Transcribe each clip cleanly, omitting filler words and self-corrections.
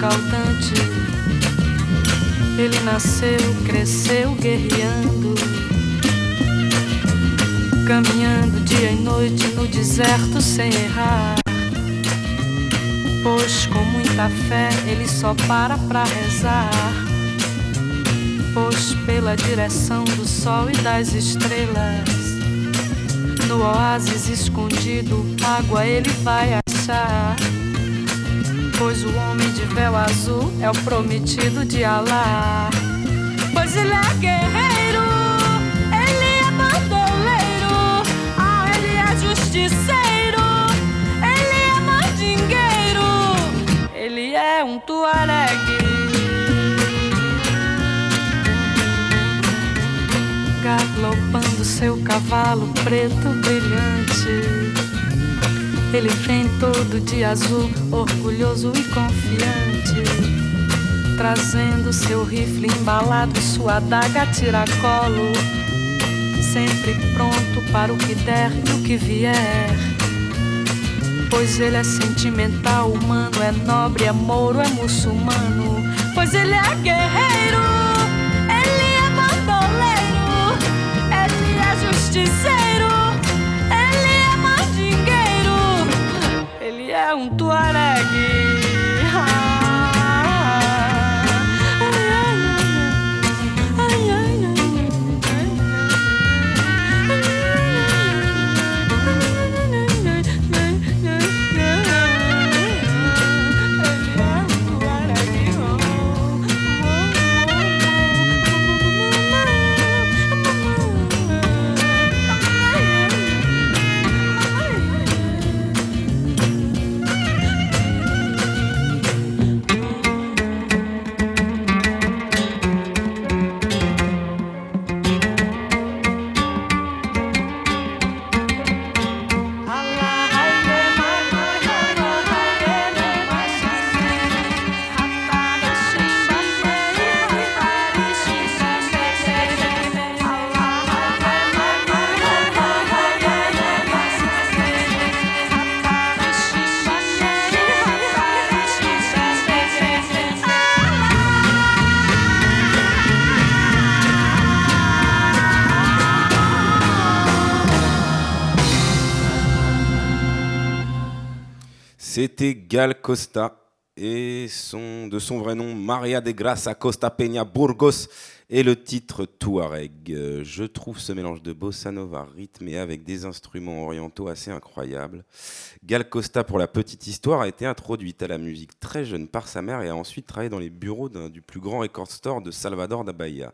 escaldante. Ele nasceu, cresceu guerreando, caminhando dia e noite no deserto sem errar. Pois com muita fé ele só para pra rezar. Pois pela direção do sol e das estrelas, no oásis escondido, água ele vai achar. Pois o homem de véu azul é o prometido de Alá. Pois ele é guerreiro, ele é bandoleiro, ele é justiceiro, ele é mandingueiro, ele é um tuaregue. Galopando seu cavalo preto brilhante, ele vem todo de azul, orgulhoso e confiante, trazendo seu rifle embalado e sua adaga a tiracolo, sempre pronto para o que der e o que vier. Pois ele é sentimental, humano, é nobre, é mouro, é muçulmano. Pois ele é guerreiro, ele é bandoleiro, ele é justiceiro, ele é mandingueiro, ele é um tuaregue. C'était Gal Costa et de son vrai nom Maria de Graça Costa Peña Burgos et le titre Touareg. Je trouve ce mélange de bossa nova rythmé avec des instruments orientaux assez incroyables. Gal Costa, pour la petite histoire, a été introduite à la musique très jeune par sa mère et a ensuite travaillé dans les bureaux du plus grand record store de Salvador da Bahia.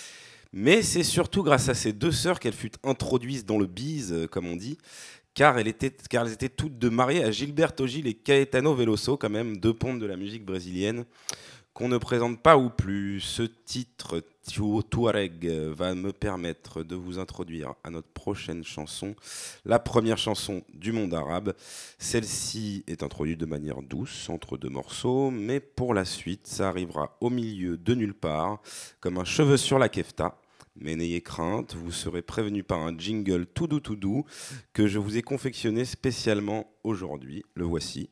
Mais c'est surtout grâce à ses deux sœurs qu'elle fut introduite dans le biz, comme on dit, car elles étaient toutes deux mariées à Gilberto Gil et Caetano Veloso, quand même deux pontes de la musique brésilienne, qu'on ne présente pas ou plus. Ce titre, Touareg, va me permettre de vous introduire à notre prochaine chanson, la première chanson du monde arabe. Celle-ci est introduite de manière douce, entre deux morceaux, mais pour la suite, ça arrivera au milieu de nulle part, comme un cheveu sur la kefta. Mais n'ayez crainte, vous serez prévenu par un jingle tout doux que je vous ai confectionné spécialement aujourd'hui. Le voici.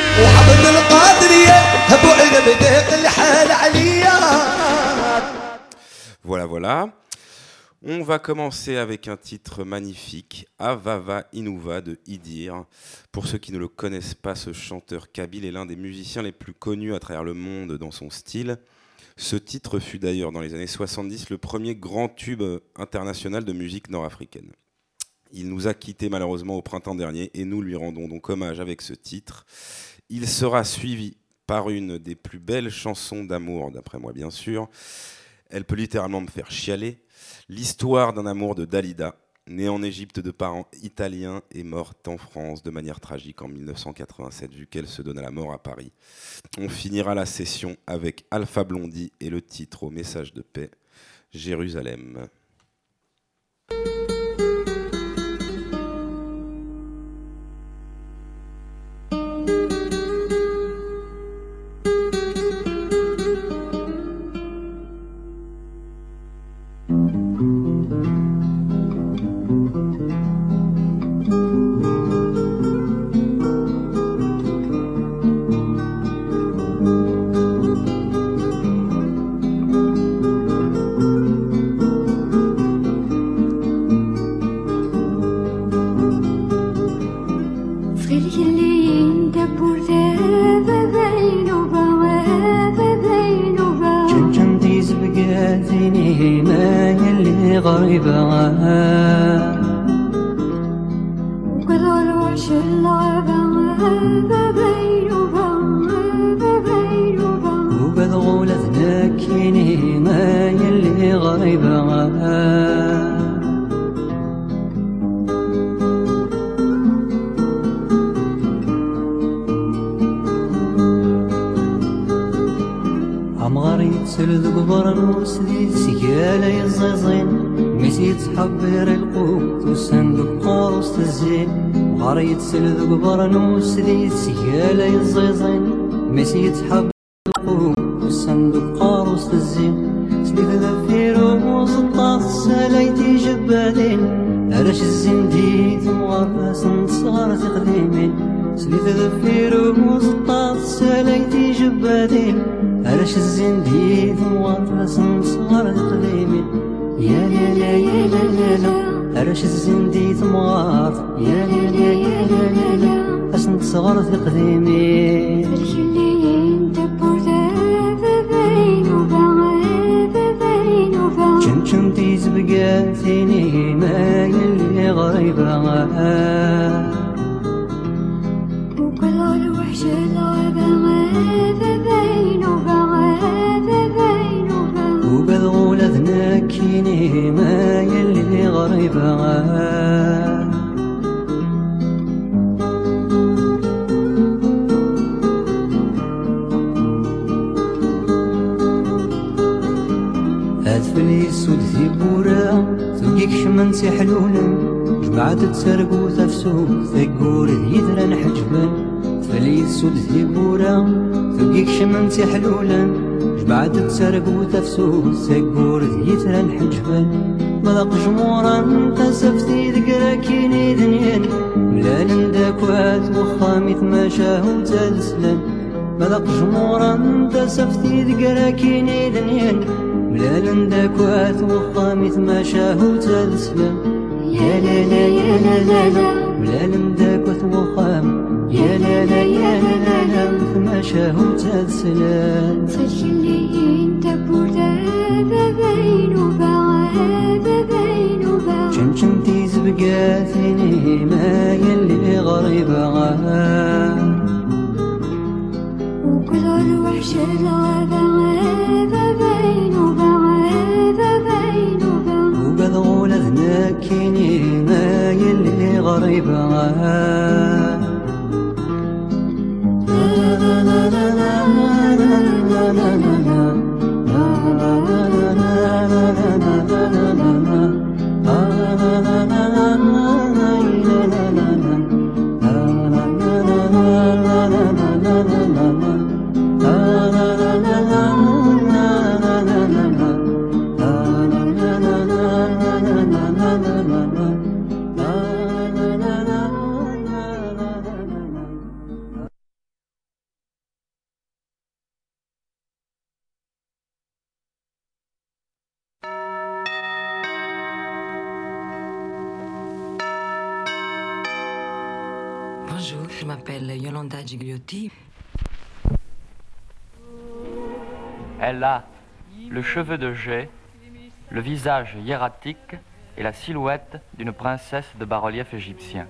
Voilà. On va commencer avec un titre magnifique, Avava Inuva de Idir. Pour ceux qui ne le connaissent pas, ce chanteur kabyle est l'un des musiciens les plus connus à travers le monde dans son style. Ce titre fut d'ailleurs dans les années 70 le premier grand tube international de musique nord-africaine. Il nous a quittés malheureusement au printemps dernier et nous lui rendons donc hommage avec ce titre. Il sera suivi par une des plus belles chansons d'amour, d'après moi bien sûr. Elle peut littéralement me faire chialer. L'histoire d'un amour de Dalida, née en Égypte de parents italiens et morte en France de manière tragique en 1987, vu qu'elle se donne à la mort à Paris. On finira la session avec Alpha Blondy et le titre au message de paix, Jérusalem. جنجنديز بقاتيني ما يلي غريبة وكذا الوحش اللعبة وكذا غولة ذاكيني ما يلي غريبة سلد قبر وسديد سيالة يزيزين ميسيت حبير القوت والصندوق قاروس تزين غريت سلد قبر وسديد سيالة يزيزين ميسيت حبير القوت والصندوق قاروس تزين سليت ذفيرو وزطاس سلايتي جبادين علاش الزنديد مغرس نصغر تقديمين سليت ذفيرو وزطاس سلايتي جبادين علاش الزنديد مواطرس صغار القديمين يا لا لا يا لا لا لا علاش الزنديد مواطر يا لا لا يا لا لا لا اش نتصغر في القديمين جنجنتيز بقاتيني ما يلي غريبة وكل الوحش العبا وبالغول ذناكيني ما يلي غريبة هاتفلي السود ذي بورا تلقيك شمنتي حلولا جمعت تسرقو تفسو ثقور يدران حجبان تفلي السود ذي بورا تلقيك شمنتي حلولا بعد تسرق وتفسو سقور يترى الحجبان مذاق جمورا انت سفتي ذكراكيني دنيان ملال داكوات وخامي تماشاه وتلسلان مذاق جمورا انت سفتي ذكراكيني دنيان ملال داكوات وخامي تماشاه وتلسلان يا لا لا يا لا لا لا ملال داكوات وخام يا لا لا يا لا لا تماشاه وتلسلان جنجنتيز بقاتيني ما يلي غريبة وكل الوحش العبا وقد غولة ذناكيني ما يلي غريبة Bonjour, je m'appelle Yolanda Gigliotti. Elle a le cheveu de jais, le visage hiératique et la silhouette d'une princesse de bas-relief égyptien.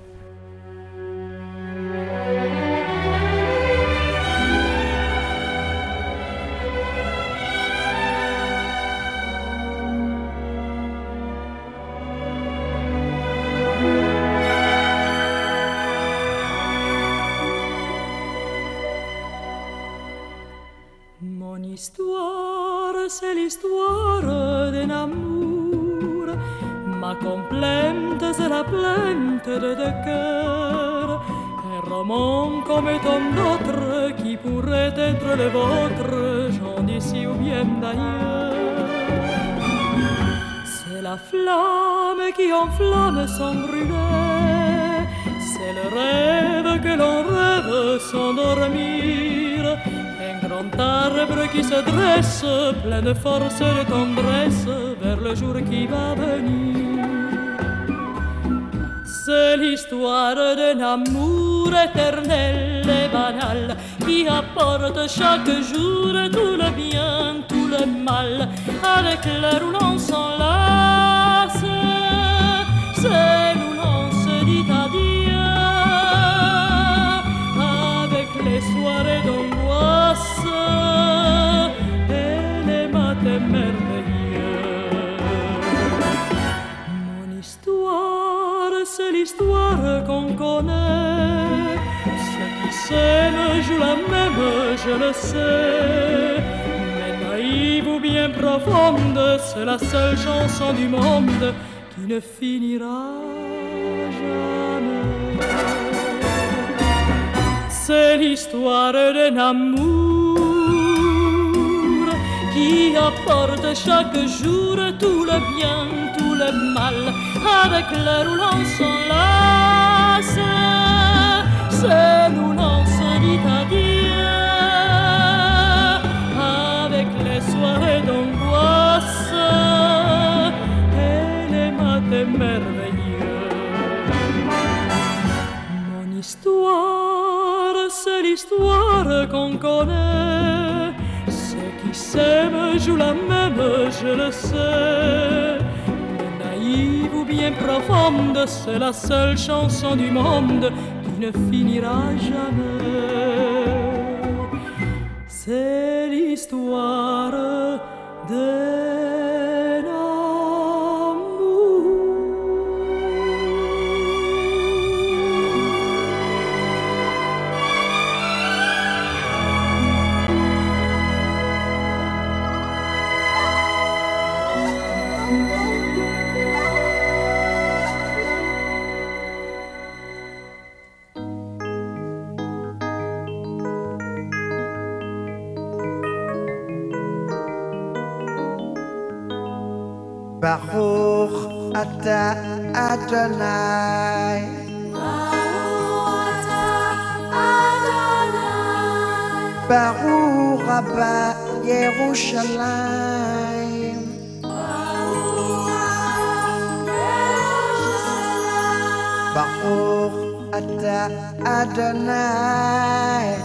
C'est l'histoire d'un amour. Ma complainte, c'est la plainte de deux cœurs. Un roman comme tant d'autres qui pourrait être le vôtre, j'en d'ici ou bien d'ailleurs. C'est la flamme qui enflamme sans brûler. C'est le rêve que l'on rêve sans dormir. Un grand arbre qui se dresse, plein de force et de tendresse, vers le jour qui va venir. C'est l'histoire d'un amour amour éternel et banal qui apporte chaque jour tout le bien, tout le mal, avec l'air où l'on s'enlace. C'est où l'on se dit adieu, avec les soirées d'angoisse et les matins merveilleux. Mon histoire, c'est l'histoire qu'on connaît. Ceux qui s'aiment jouent la même, je le sais. Mais naïve ou bien profonde, c'est la seule chanson du monde qui ne finira jamais. C'est l'histoire d'un amour qui apporte chaque jour tout le bien, tout le mal, avec l'heure où l'on s'enlace. C'est où l'on se dit adieu, avec les soirées d'angoisse et les matins merveilleux. Mon histoire, c'est l'histoire qu'on connaît. Ceux qui s'aiment jouent la même, je le sais. Mais naïve ou bien profonde, c'est la seule chanson du monde qui ne finira jamais. C'est l'histoire d'un amour. Baruch Ata Adonai. Baruch Rabba Yerushalayim. Baruch Ata Adonai.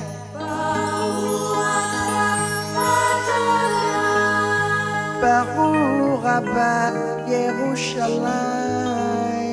Baruch Rabba Yerushalayim.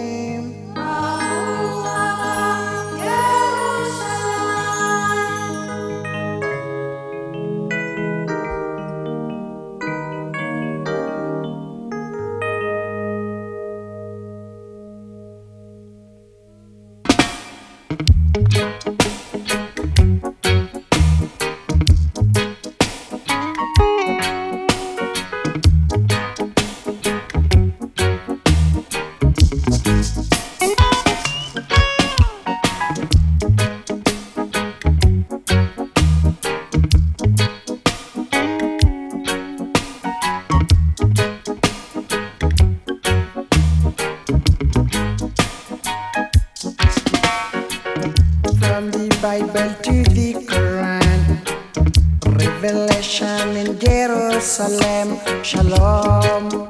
From the Bible to the Quran, Revelation in Jerusalem, Shalom,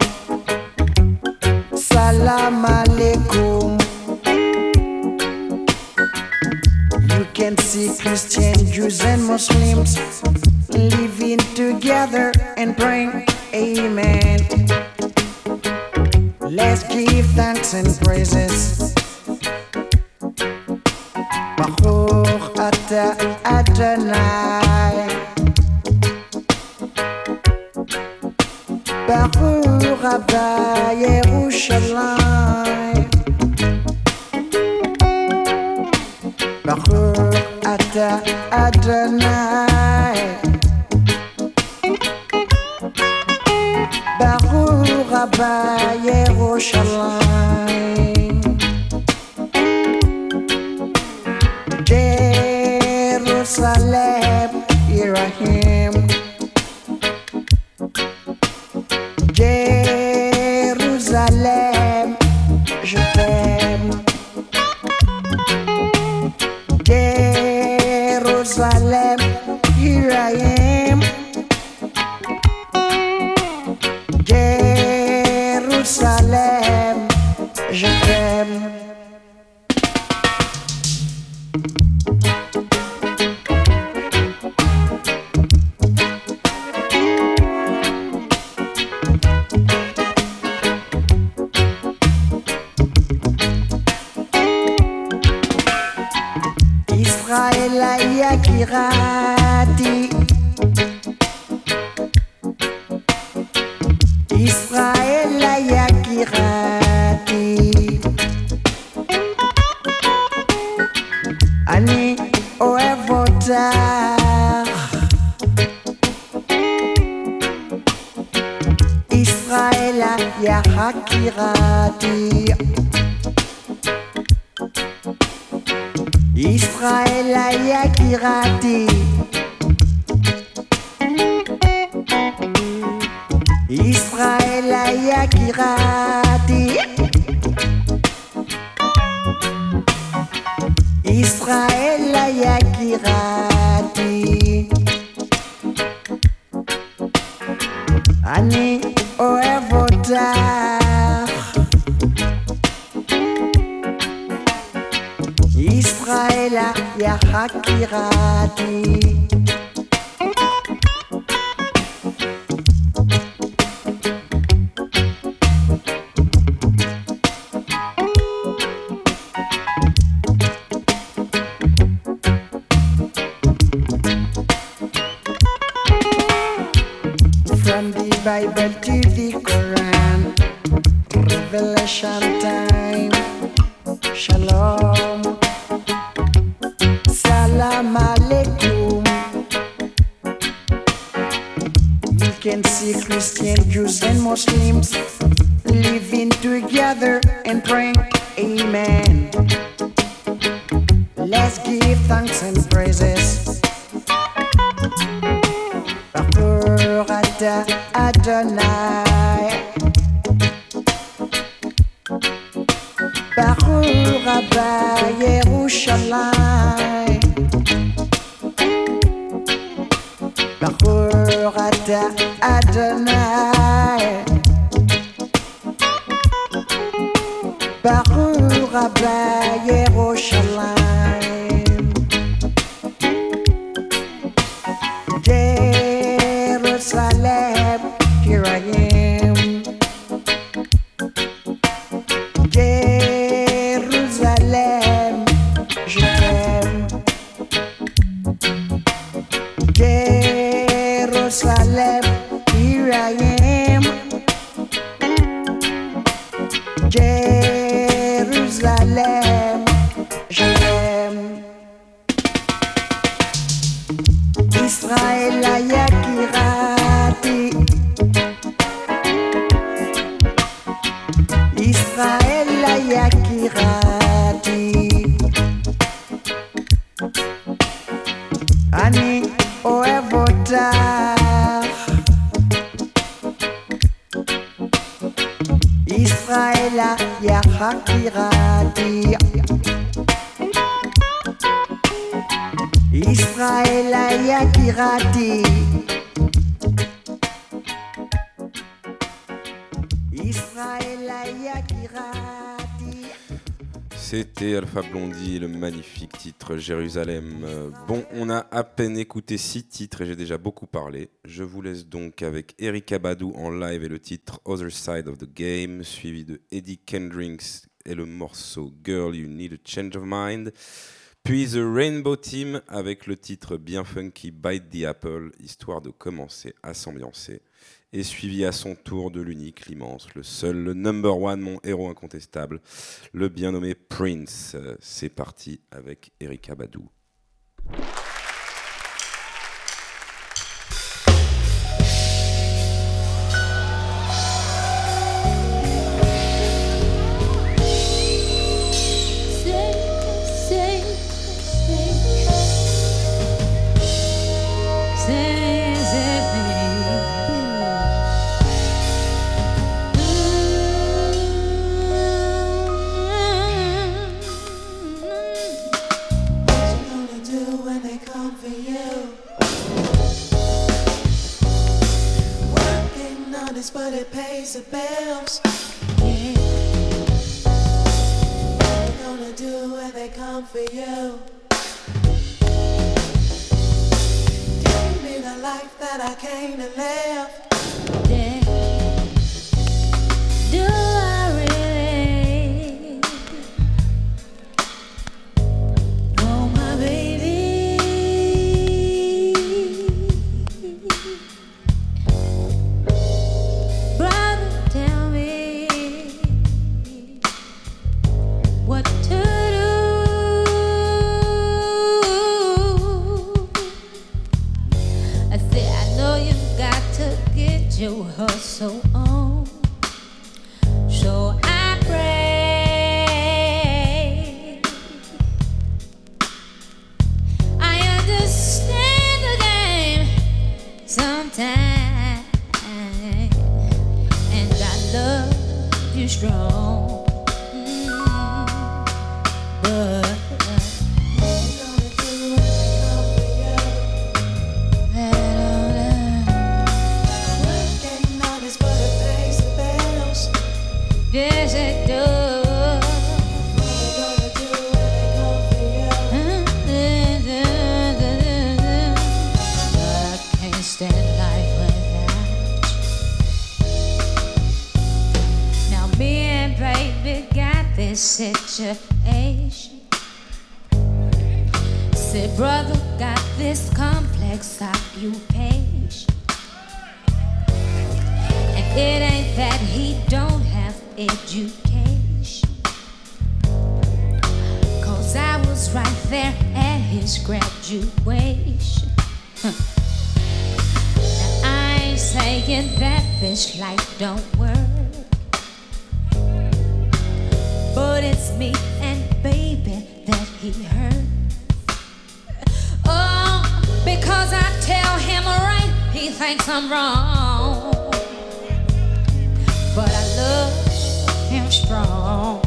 Salam Alaikum. You can see Christians, Jews and Muslims living together and praying, Amen. Let's give thanks and praises. Baruch Ata Adonai. Baruch Rabba Yerushalayim. Baruch Ata Adonai. Baruch Rabba Yerushalayim. Jerusalem, here I am. Jerusalem, je t'aime. Jerusalem, here I am. Jerusalem, je t'aime. Israel Yakirati Israel Yakirati Ani Oevotar Israel Yakirati Israel Yakirati Israel Yakirati Israel Yakirati Ani Oevotar Israel Yakirati From the Bible to the Quran, Revelation time. Shalom, Salam Alaikum. You can see Christians, Jews, and Muslims living together and praying, Amen. Let's give thanks and praises. Baruch Adonai. Baruch Rabba Yerushalayim. Baruch Adonai. Baruch Rabba Yerushalayim. Jerusalem, here I am. Jerusalem, je t'aime. Jerusalem, here I am. Jerusalem, je t'aime. Israel Yakirati Israel Yakirati Ani Oevotar Israel Yakirati Israel Yakirati Israel Yakirati. C'était Alpha Blondy, le magnifique titre Jérusalem. Bon, on a à peine écouté 6 titres et j'ai déjà beaucoup parlé. Je vous laisse donc avec Erykah Badu en live et le titre Other Side of the Game, suivi de Eddie Kendricks et le morceau Girl You Need a Change of Mind. Puis The Rainbow Team avec le titre bien funky Bite the Apple, histoire de commencer à s'ambiancer. Et suivi à son tour de l'unique, l'immense, le seul, le number one, mon héros incontestable, le bien nommé Prince. C'est parti avec Erykah Badu. But it pays the bills. Yeah. What you gonna do when they come for you? Give me the life that I came to live. Yeah. Do I really? Oh my baby. to hustle on. So I pray. I understand the game sometimes, and I love you strong. But yes, it does. I can't stand life without you. Now me and baby got this situation. Said brother got this complex occupation. And it ain't that he don't have education, 'cause I was right there at his graduation. Now I ain't saying that this life don't work, but it's me and baby that he hurt. Oh, because I tell him right, he thinks I'm wrong. But I love him strong.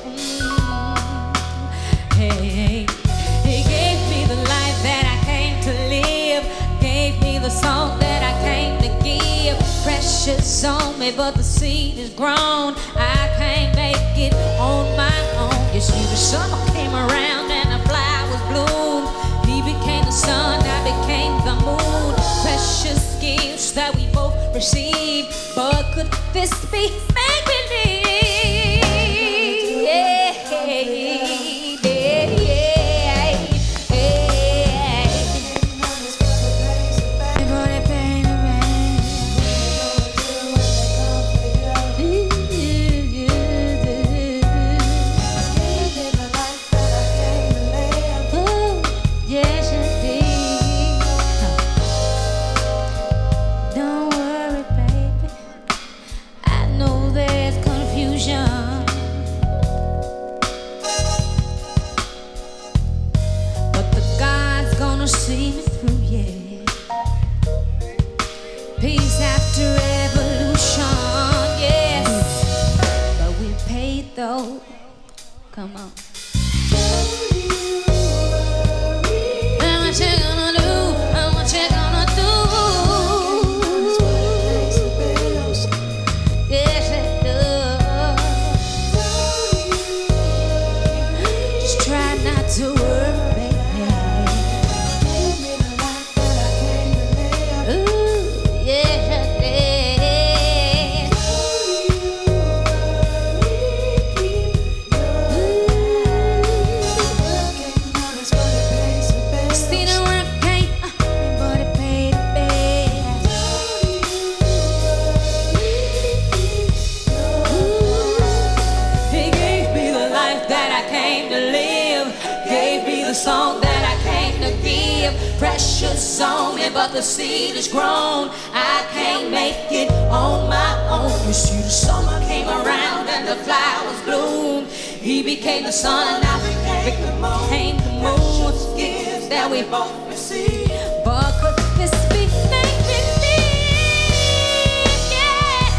Hey, he gave me the life that I came to live, gave me the song that I came to give. Precious on me, but the seed is grown. I can't make it on my own. You see, the summer came around and the flowers bloomed. He became the sun, I became the moon. Precious gifts that we both received. But could this be make believe? Yeah, yeah, yeah, yeah. Everybody pain and rain. Ooh, yes, indeed. Don't worry, baby. I know there's confusion, but the God's gonna see me through, yeah. Peace after revolution, yes. But we paid though. Come on. And what you gonna do? And what you gonna do? Yes, it does. Just try not to worry, baby. Ooh, yes, it did. See the work ain't, but it paid the bills. He gave me the life that I came to live, gave me the song that I came to give. Precious on me, but the seed is grown. I can't make it on my own. You see, the summer came around and the flowers bloomed. He became the sun and I became the moon. Precious gifts that we both received. But could this be make believe? Yeah.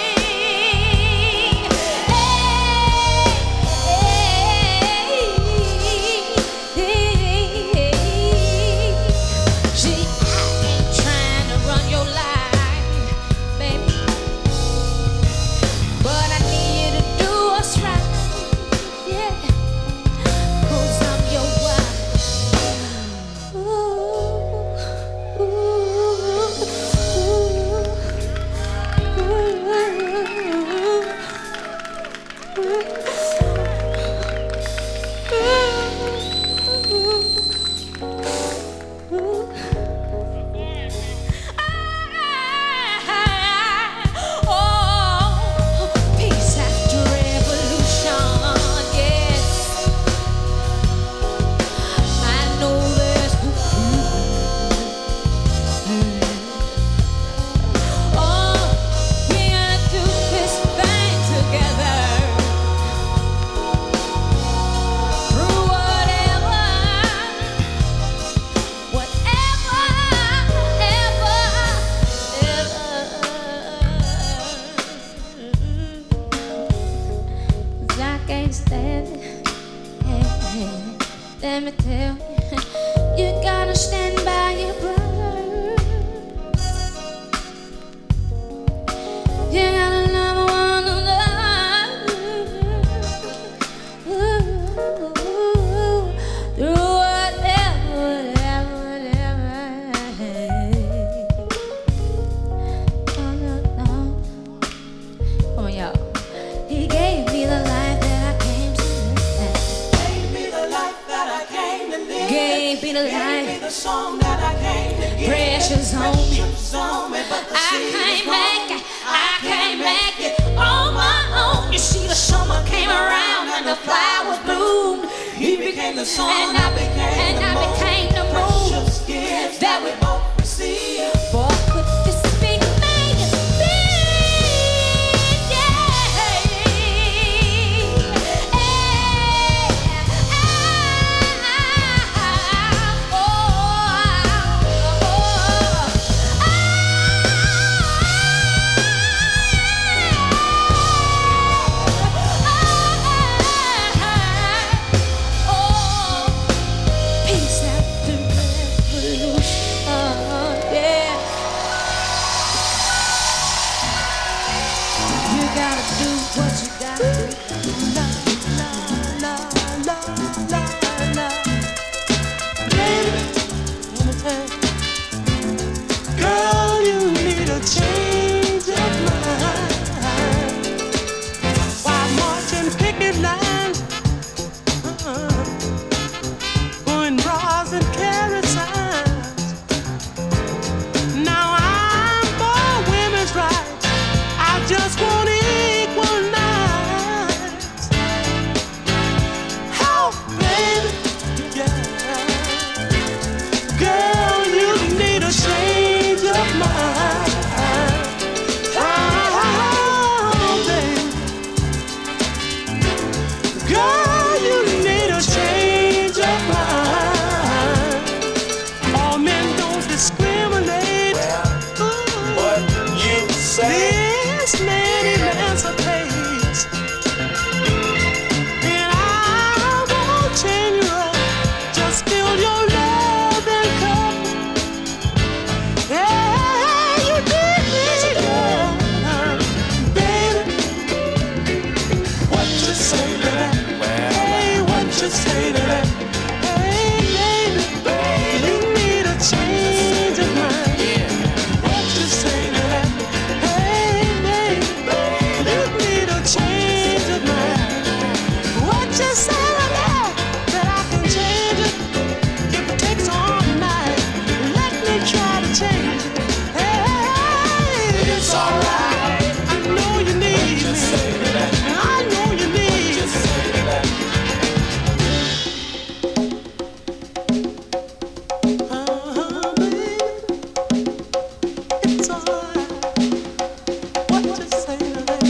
See, I ain't trying to run your life, baby, but I need you to do what's right, yeah. 'Cause I'm your wife. Ooh. You gotta stand by your brother. You gotta love one another. Through whatever. No. Come on, y'all. He gave me the life that I came to live. Gave me the life that I came to live. Gave me the life. Gave me the song that I came to give. Precious home. Precious home, but the I seed can't was make gone. it. I can't make it on my own. You see, the summer came around and the flowers bloomed. He became the sun, and I became the moon. Precious gifts that we both received. Boy, could this be made to be? Peace after revolution, yeah. You gotta do what you gotta do. La la la la la la. Baby, let me tell you, girl, you need a change of mind. While marching picket lines, pouring bras and carry signs. Now I'm for women's rights. I just want equal rights. Oh, baby, yeah. Girl, you need a change of mind. Oh, baby. Girl, you need a change of mind. All men don't discriminate. What you say? This man emancipates. And I won't change you up. Just fill your loving cup. Yeah, you need me, girl. Baby, What you say to that? hey, what you say to that? Hey, baby, you need a change of mind. What you say to that? Hey, baby, you need a change of mind. What you say to that? That I can change it if it takes all night. Let me try to change it. Hey, It's alright. I know you need What you me. say to that? I know you need Just say to that. it's alright. What you say to that?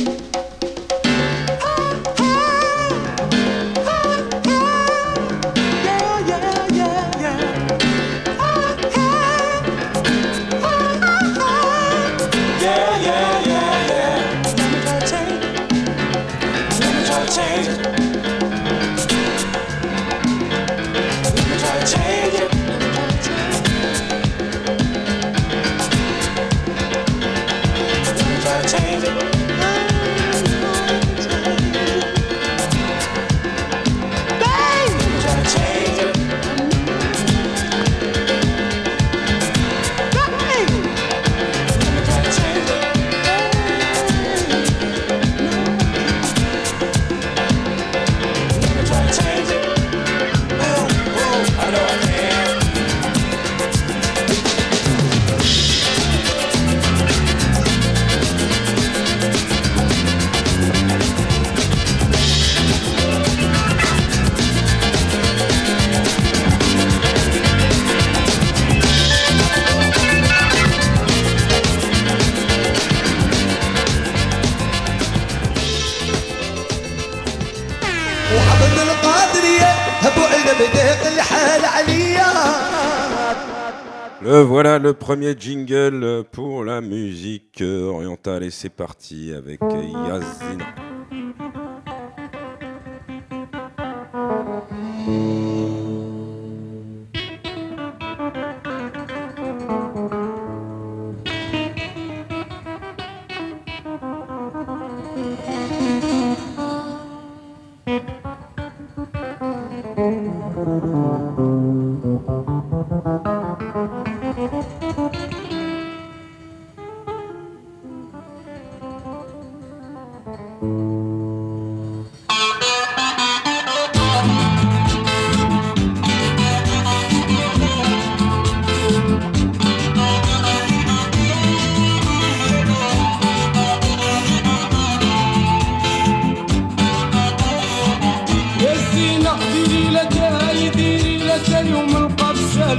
Le voilà, le premier jingle pour la musique orientale. Et c'est parti avec Yazina.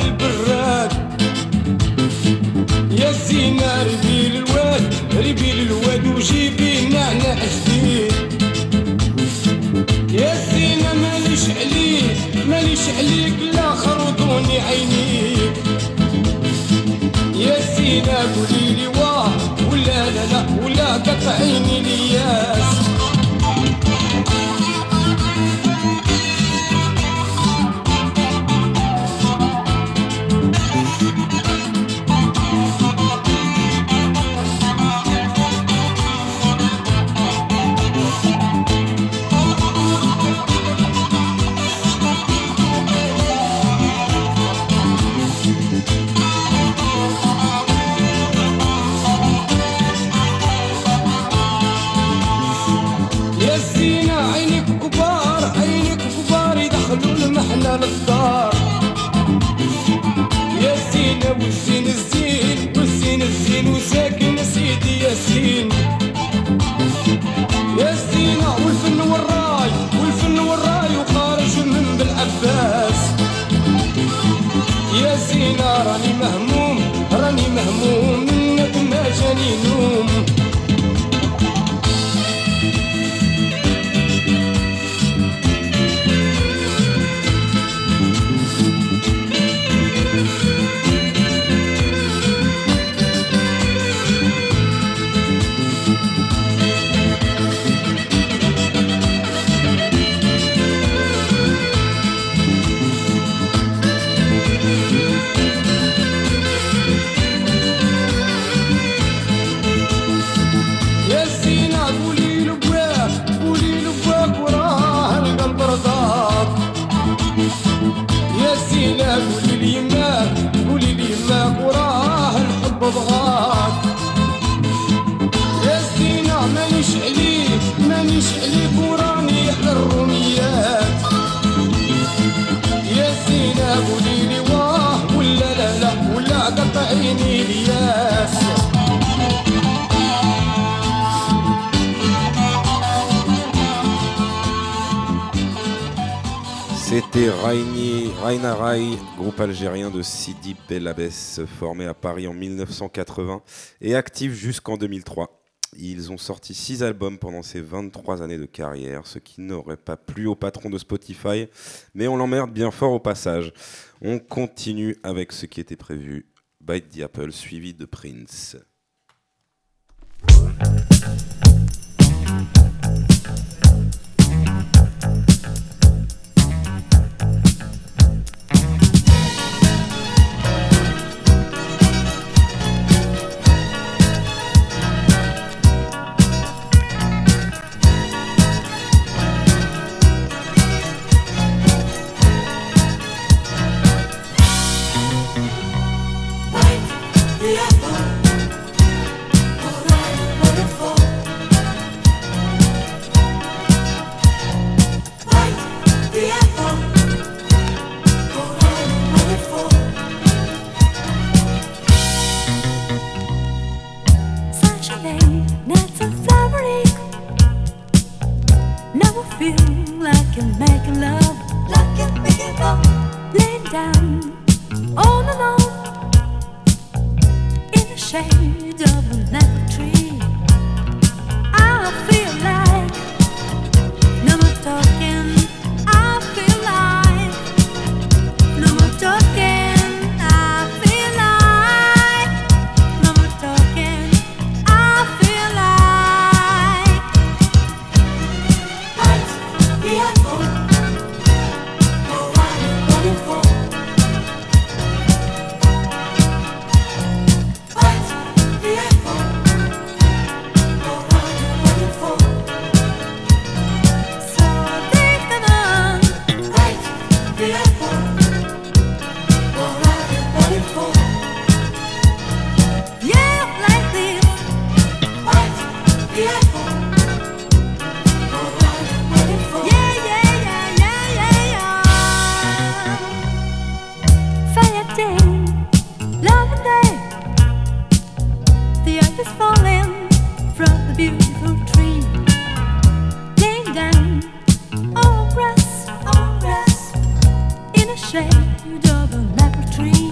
البراد يا زينة ربي للواد وجيبي نعناع جديد يا زينة ماليش عليك لا خرطوني عينيك يا زينة قوليلي واه ولا لا ولا قطعيني الياس للدار يا زينة والزين الزين وساكن سيدي ياسين يا زينة والفن والراي وخارج من بالعباس يا زينة راني مهموم منك ما جاني نوم قولي لي ما وراه الحب بغاك يا زينة مانيش عليك وراني على الروميات يا زينة قولي لي واه ولا لا ولا قطعيني الياس C'était Raina Rai, groupe algérien de Sidi Bel Abbès, formé à Paris en 1980 et actif jusqu'en 2003. Ils ont sorti 6 albums pendant ces 23 années de carrière, ce qui n'aurait pas plu au patron de Spotify, mais on l'emmerde bien fort au passage. On continue avec ce qui était prévu, Bite the Apple, suivi de Prince. shade of a leopard tree.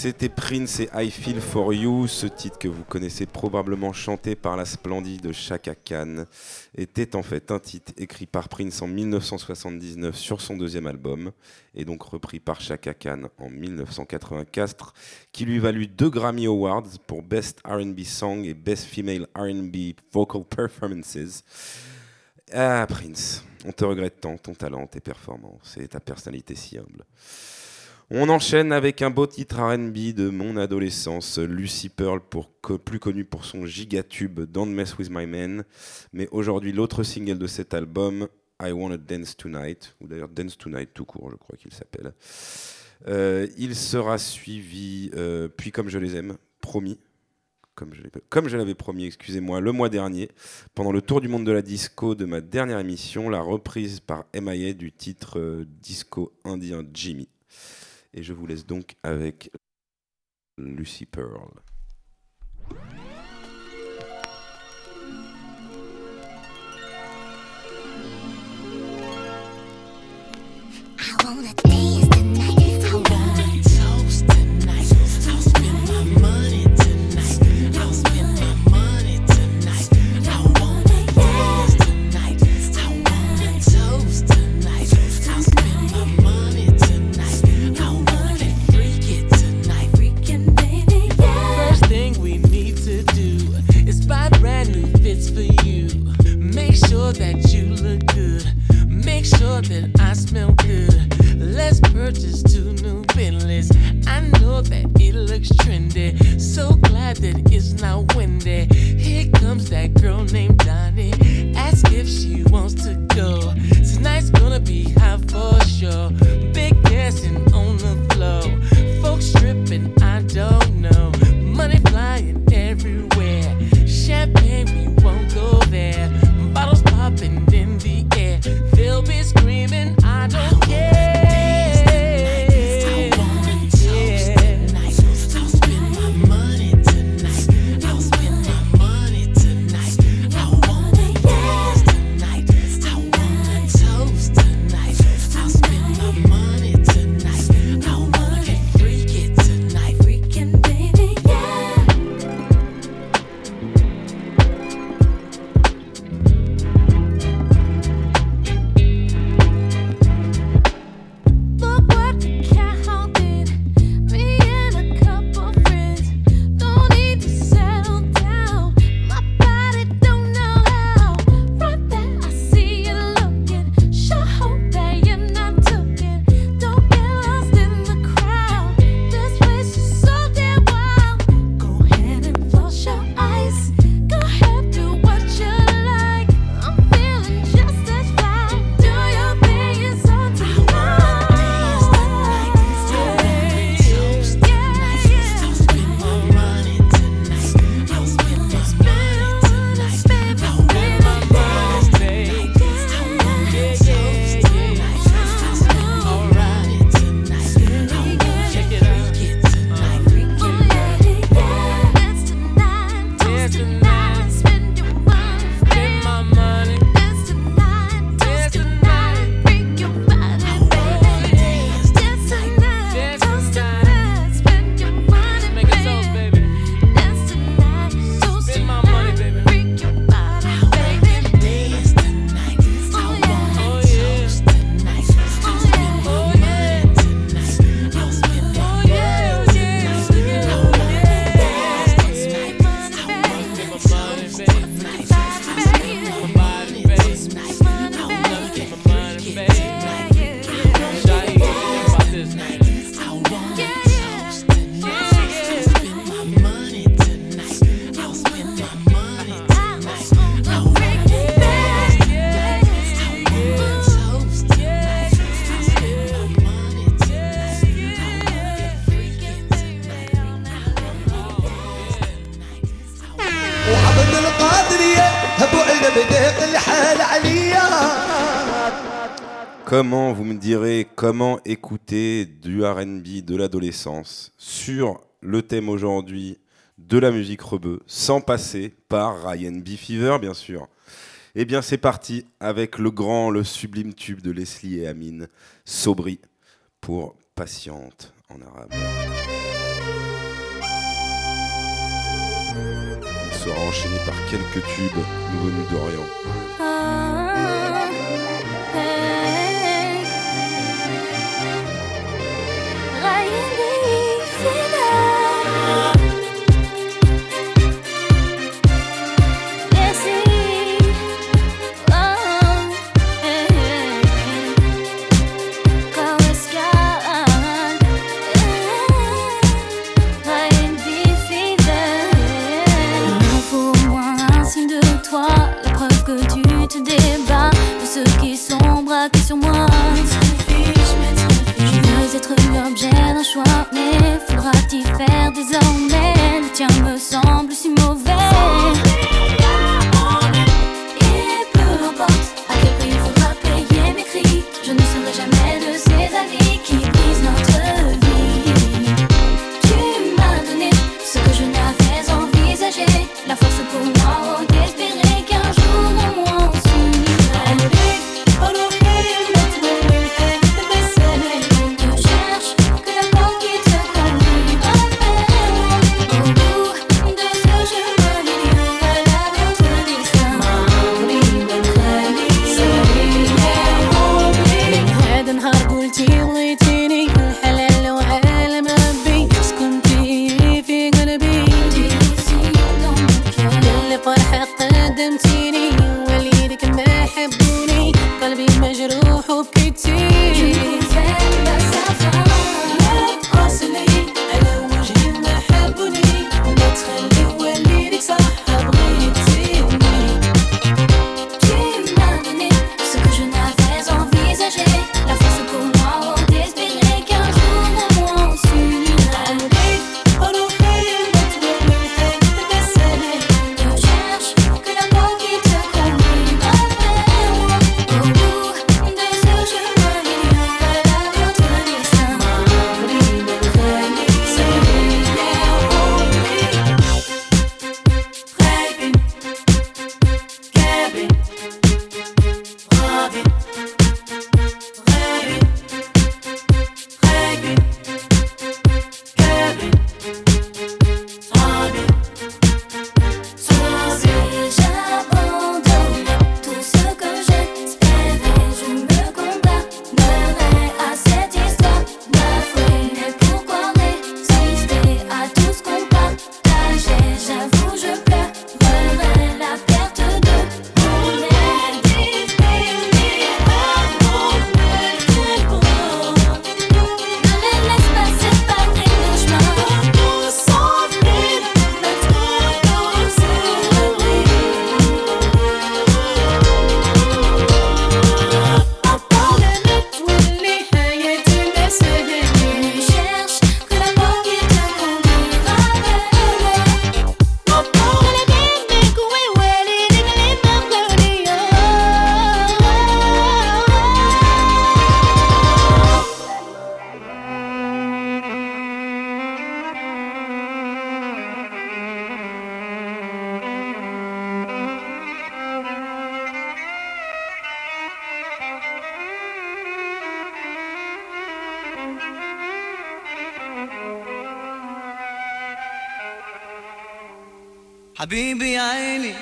C'était Prince et I Feel For You. Ce titre que vous connaissez probablement chanté par la splendide Chaka Khan était en fait un titre écrit par Prince en 1979 sur son deuxième album et donc repris par Chaka Khan en 1984 qui lui valut 2 Grammy Awards pour Best R&B Song et Best Female R&B Vocal Performances. Ah Prince, on te regrette tant, ton talent, tes performances et ta personnalité si humble. On enchaîne avec un beau titre R&B de mon adolescence, Lucy Pearl, plus connu pour son gigatube Don't Mess With My Man, mais aujourd'hui l'autre single de cet album, I Wanna Dance Tonight, ou d'ailleurs Dance Tonight tout court, je crois qu'il s'appelle. Il sera suivi, puis Comme je les aime, promis, comme je l'avais promis, excusez-moi, le mois dernier, pendant le tour du monde de la disco de ma dernière émission, la reprise par MIA du titre disco indien Jimmy. Et je vous laisse donc avec Lucy Pearl. I wanna dance tonight. I wanna toast tonight. I'll spend my money tonight. I'll spend my money tonight. I wanna dance tonight. I wanna toast tonight. I'll spend my money tonight. I wanna get freaky tonight. Freaking baby, yeah. First thing we need to do is buy brand new fits for you. Make sure that you look good. Make sure that I smell good. Let's purchase 2 new Bentleys. I know that it looks trendy. So glad that it's not windy. Here comes that girl named Donnie. Ask if she wants to go. Tonight's gonna be hot for sure. Big dancing on the floor. Folks stripping, I don't know. Money flying everywhere. Champagne, we won't go there. Bottles popping in the air. They'll be screaming, I don't care. Comment, vous me direz, comment écouter du R&B de l'adolescence sur le thème aujourd'hui de la musique rebeu, sans passer par Ryan B. Fever, bien sûr. Eh bien, c'est parti avec le grand, le sublime tube de Leslie et Amine, Sobri, pour Patiente en arabe. sera enchaîné par quelques tubes nous venus d'Orient. Sur moi, je veux être l'objet d'un choix, mais faudra-t-il faire désormais? Le tien me semble si mauvais. Et peu importe à quel prix il faudra payer mes cris, je ne serai jamais de ces avis qui brisent notre vie. Tu m'as donné ce que je n'avais envisagé, la force pour moi d'espérer qu'un jour au moins on s'unira. حبيبي يا عيني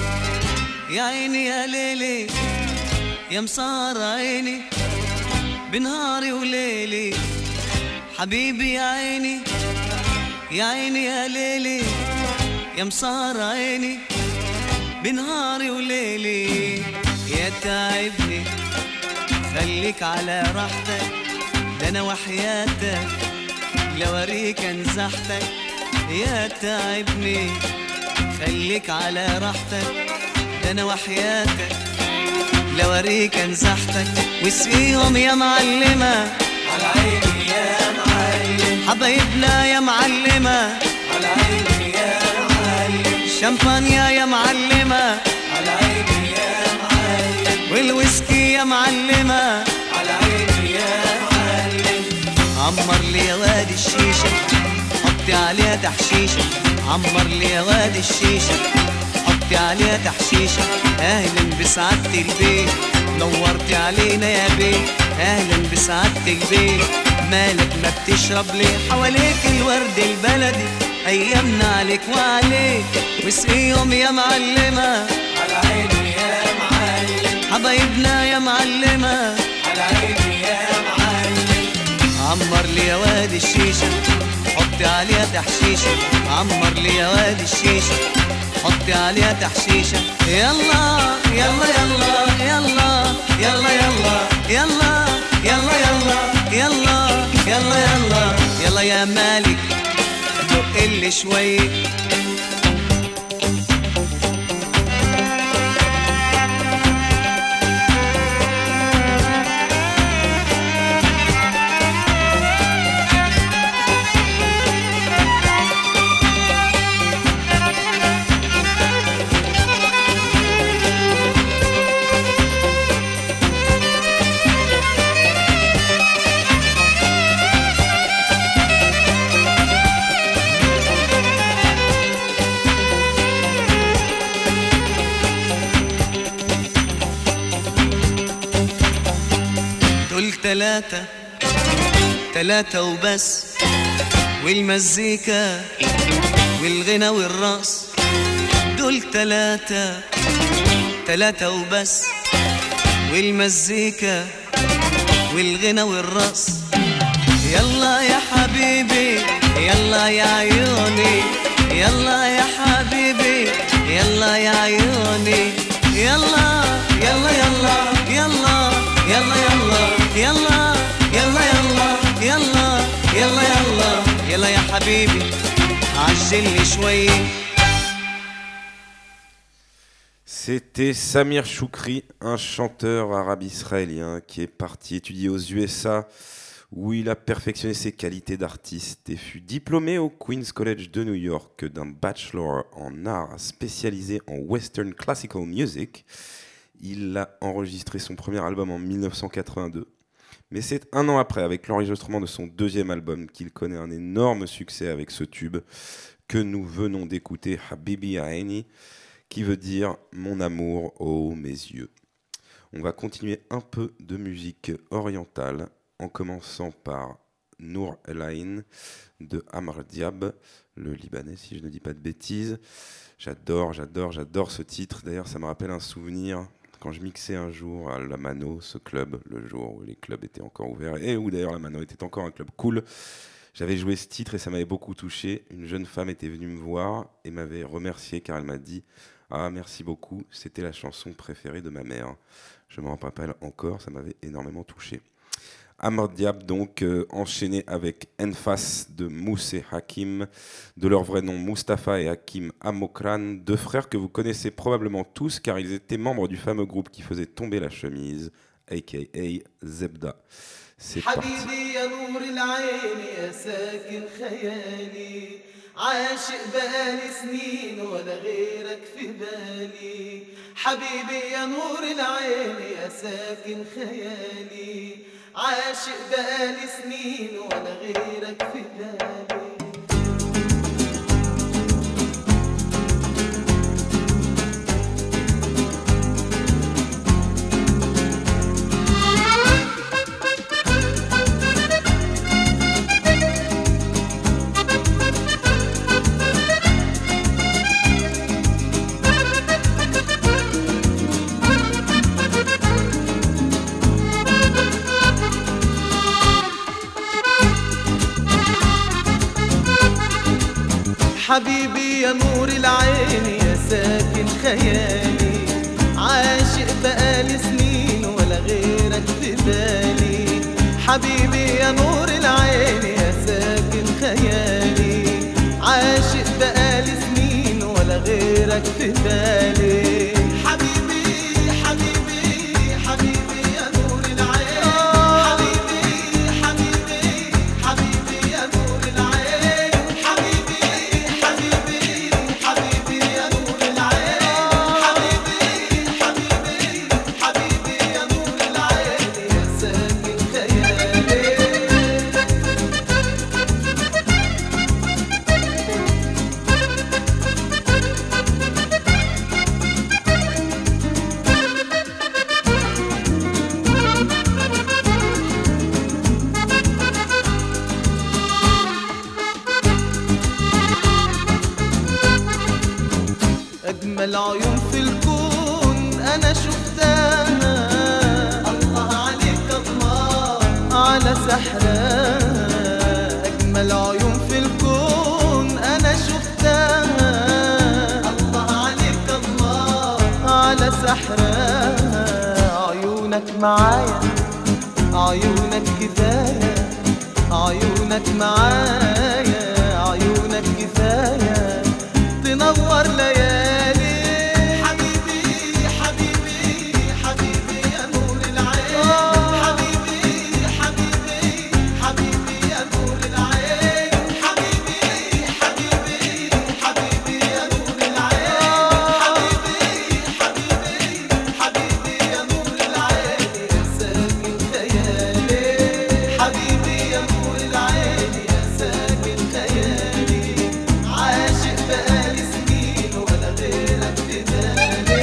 يا عيني يا ليلي يا مسهر عيني بنهاري وليلي حبيبي يا عيني يا عيني يا ليلي يا مسهر عيني بنهاري وليلي يا تعبني خليك على راحتك ده انا وحياتك لو اوريك انزحتك يا تعبني خليك على راحتك ده انا وحياتك لو اوريك انزحتك واسقيهم يا معلمة على عيني يا معلم حبايبنا يا معلمة على عيني يا معلم شمبانيا يا معلمة على عيني يا معلم والويسكي يا معلمة على عيني يا معلم عمر لي يا واد الشيشة حطي عليها تحشيشة عمر لي يا واد الشيشة حطي عليها تحشيشة اهلا بسعادة البيت نورتي علينا يا بيه اهلا بسعادة البيت مالك ما بتشرب ليه حواليك الورد البلدي ايامنا عليك وعليك واسقيهم يا معلمة على عيني يا معلم حبايبنا يا معلمة على عيني يا معلم عمر لي يا واد الشيشة حطي عليها تحشيشة عمر لي يا واد الشيشة حطي عليها تحشيشة يلا يلا يلا يلا يلا يلا يلا يلا يلا يلا يلا يلا يلا يا مالك دق اللي شوية تلاتة وبس والمزيكا والغنى والرقص دول تلاتة وبس والمزيكا والغنى والرقص يلا يا حبيبي يلا يا عيوني يلا يا حبيبي يلا يا عيوني يلا يلا يلا يلا يلا يلا يلا يلا يلا يلا يلا يلا يلا يا حبيبي عجلني شوي. C'était Samir Choukri, un chanteur arabe-israélien qui est parti étudier aux USA où il a perfectionné ses qualités d'artiste et fut diplômé au Queen's College de New York d'un bachelor en art spécialisé en Western Classical Music. Il a enregistré son premier album en 1982. Mais c'est un an après, avec l'enregistrement de son deuxième album, qu'il connaît un énorme succès avec ce tube que nous venons d'écouter, Habibi Aini, qui veut dire « Mon amour, oh mes yeux ». On va continuer un peu de musique orientale, en commençant par Nour El Ain de Amr Diab, le Libanais, si je ne dis pas de bêtises. J'adore ce titre. D'ailleurs, ça me rappelle un souvenir quand je mixais un jour à la Mano, ce club, le jour où les clubs étaient encore ouverts, et où d'ailleurs la Mano était encore un club cool. J'avais joué ce titre et ça m'avait beaucoup touché. Une jeune femme était venue me voir et m'avait remercié car elle m'a dit « Ah, merci beaucoup, c'était la chanson préférée de ma mère ». Je m'en rappelle encore, ça m'avait énormément touché. Amr Diab, donc, enchaîné avec Enfas de Moussé Hakim, de leur vrai nom Mustapha et Hakim Amokran, deux frères que vous connaissez probablement tous car ils étaient membres du fameux groupe qui faisait tomber la chemise, aka Zebda. C'est parti. عاشق بقالي سنين ولا غيرك في بالي حبيبي يا نور العين يا ساكن خيالي عاشق بقالي سنين ولا غيرك في بالي حبيبي يا نور العين يا ساكن خيالي عاشق بقالي سنين ولا غيرك في بالي حبيبي يا نور العين يا ساكن خيالي عاشق بقالي سنين ولا غيرك في بالي حبيبي حبيبي حبيبي يا نور العين حبيبي حبيبي حبيبي يا نور العين حبيبي حبيبي يا نور العين حبيبي حبيبي يا نور العين يا ساكن خيالي أجمل عيون في الكون أنا شفتها. الله عليك الله على سحرها. أجمل عيون في الكون أنا شفتها. الله عليك الله على سحرها. عيونك معايا عيونك كفاية. عيونك معايا عيونك كفاية تنور ليالي. حبيبي حبيبي حبيبي يا نور العين. حبيبي حبيبي حبيبي يا نور العين. حبيبي حبيبي حبيبي يا نور العين. حبيبي حبيبي حبيبي يا نور العين. يا ساكن خيالي. حبيبي يا نور العين يا ساكن خيالي. عاشق بقالي سنين ولا غيرك في بالي.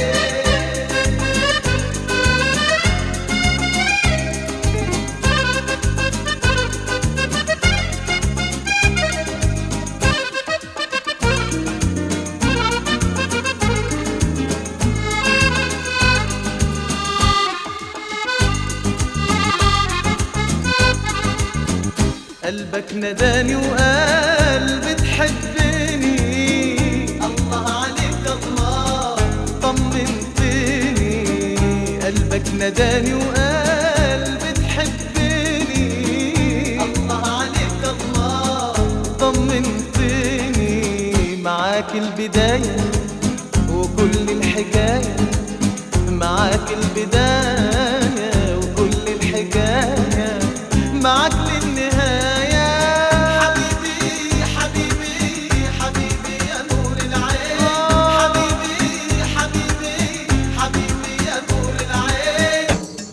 قلبك نداني وقال بتحبني. الله عليك الله طمنتني. قلبك نداني وقال بتحبني. الله عليك الله طمنتني. معاك البداية وكل الحكاية. معاك البداية وكل الحكاية. معاك للنهاية. حبيبي حبيبي حبيبي يا نور العين. حبيبي حبيبي حبيبي يا نور العين.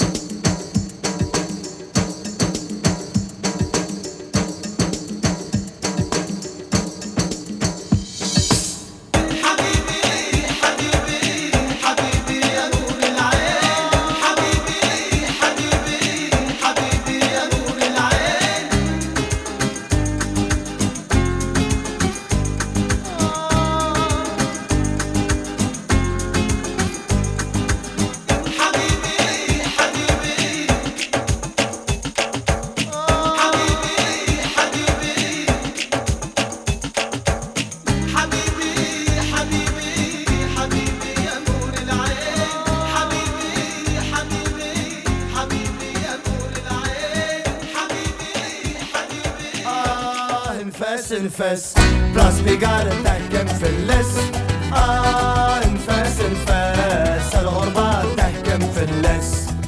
حبيبي حبيبي حبيبي يا نور العين. حبيبي حبيبي حبيبي يا نور العين. حبيبي حبيبي حبيبي حبيبي حبيبي حبيبي يا نور العين. حبيبي حبيبي حبيبي يا نور العين. نفس نفس بلاص بيقال تحكم في اللس. نفس نفس الغربة تحكم في اللس.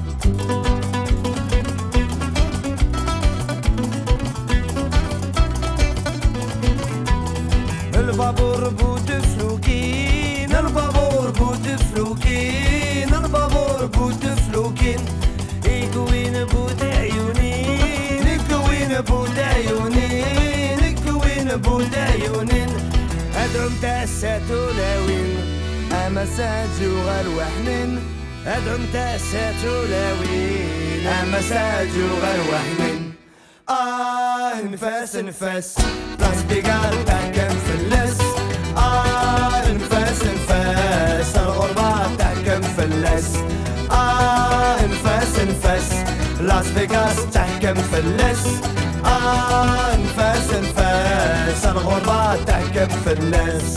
البابور بود فلوكين. البابور بود فلوكين. البابور بود فلوكين. يكوين بود عيونين. يكوين بود عيونين. يكوين بود عيونين. أدعم تأساتو لاوين أما ساجو غالوحنين. أدعم تأساتو لاوين أما ساجو غالوحنين. نفس نفس بلاص بيقال تحكم في اللس. نفس نفس الغربة تحكم في اللس. نفس نفس لاس فيغاس تحكم في اللس. نفس نفس الغربة تحكم في اللس.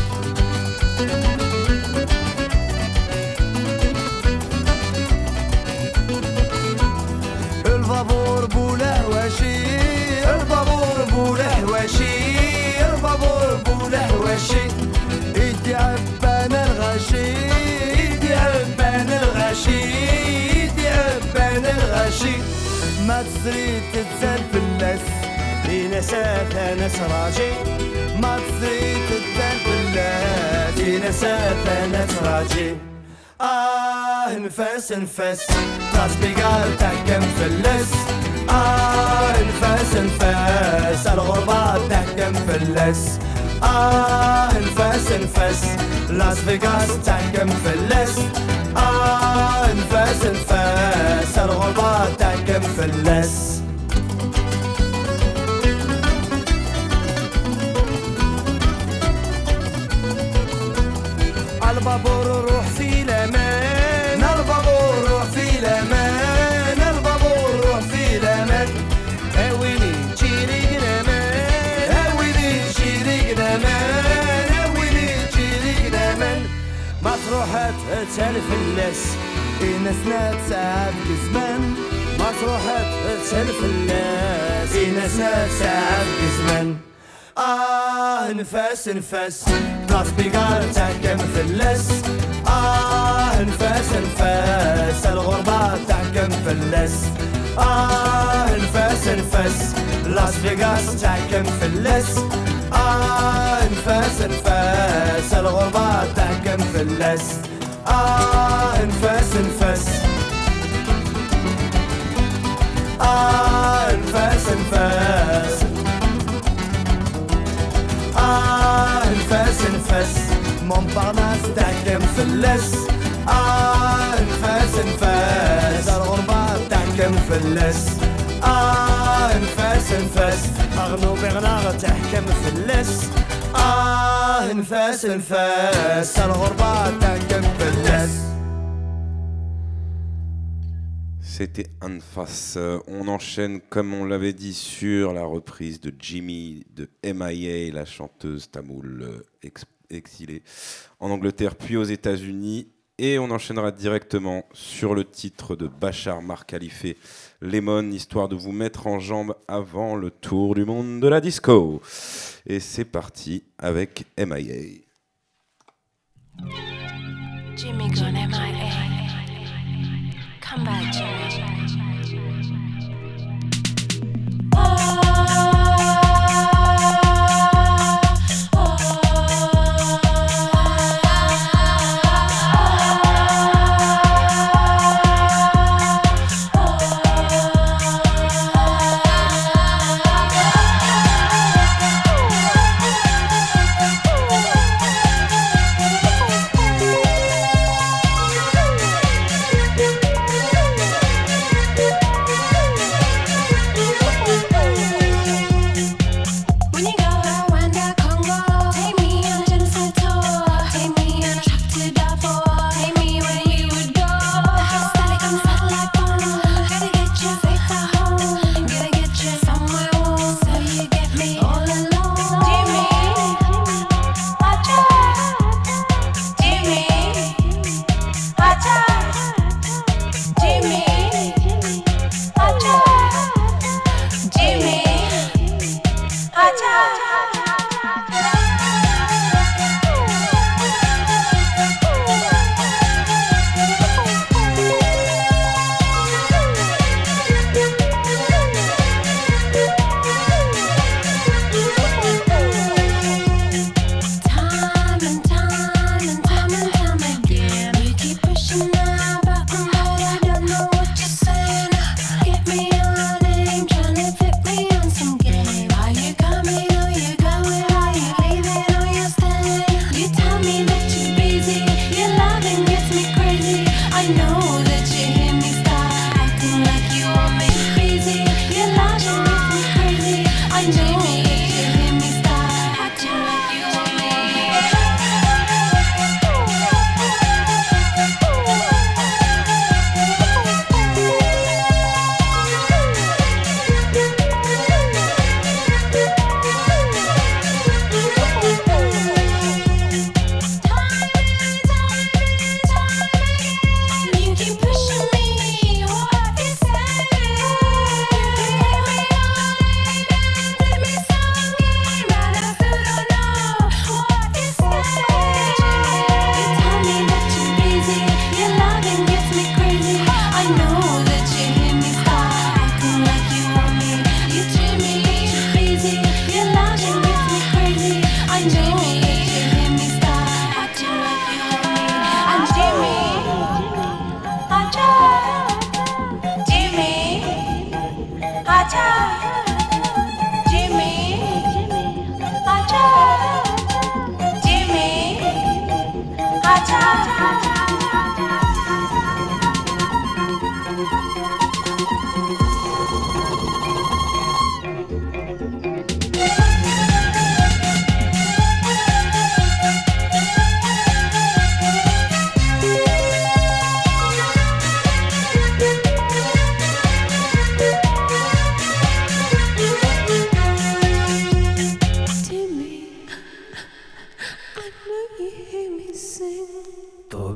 البابور بولهواشي. البابور بولهواشي. البابور بولهواشي. يدي عبان الغاشي. يدي عبان الغاشي. يدي عبان الغاشي. ما تزري تتزال في اللس. نساها ناس راجي. ما تزري تتزال في اللس. نساها ناس راجي. نفس نفس راس بيقال تحكم في اللس. نفس نفس الغربة تحكم في اللس. نفس نفس لاس فيغاس تحكم في اللس. نفس نفس الغربة تحكم في اللس. البابور روح في الامان البابور روح في الامان البابور روح في الامان اويلي تشيري قدامان اويلي تشيري قدامان اويلي تشيري قدامان مطروحات تسالف الناس الناس ساعات كزمان مطروحات تسالف الناس الناس ساعات كزمان نفاس نفاس بلاص بيقار تحكم في اللس نفاس نفاس الغربة تحكم في اللس نفاس نفاس لاس فيغاس تحكم في اللس نفاس نفاس الغربة تحكم في اللس نفاس نفاس نفاس نفاس نفاس نفاس مونبارناس تحكم في اللس نفاس نفاس الغربة تحكم في اللس نفاس نفاس أغنو بغناغ تحكم في اللس نفاس نفاس الغربة تحكم في اللس. C'était Anfas. On enchaîne, comme on l'avait dit, sur la reprise de Jimmy de MIA, la chanteuse tamoule exilée en Angleterre puis aux États-Unis. Et on enchaînera directement sur le titre de Bachar Mar Khalife, Lemon, histoire de vous mettre en jambes avant le tour du monde de la disco. Et c'est parti avec MIA. Jimmy gone MIA. Come back, Jimmy.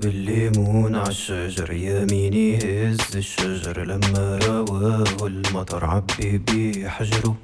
طاب الليمون عالشجر يميني هز الشجر لما رواه المطر عبي بيه حجره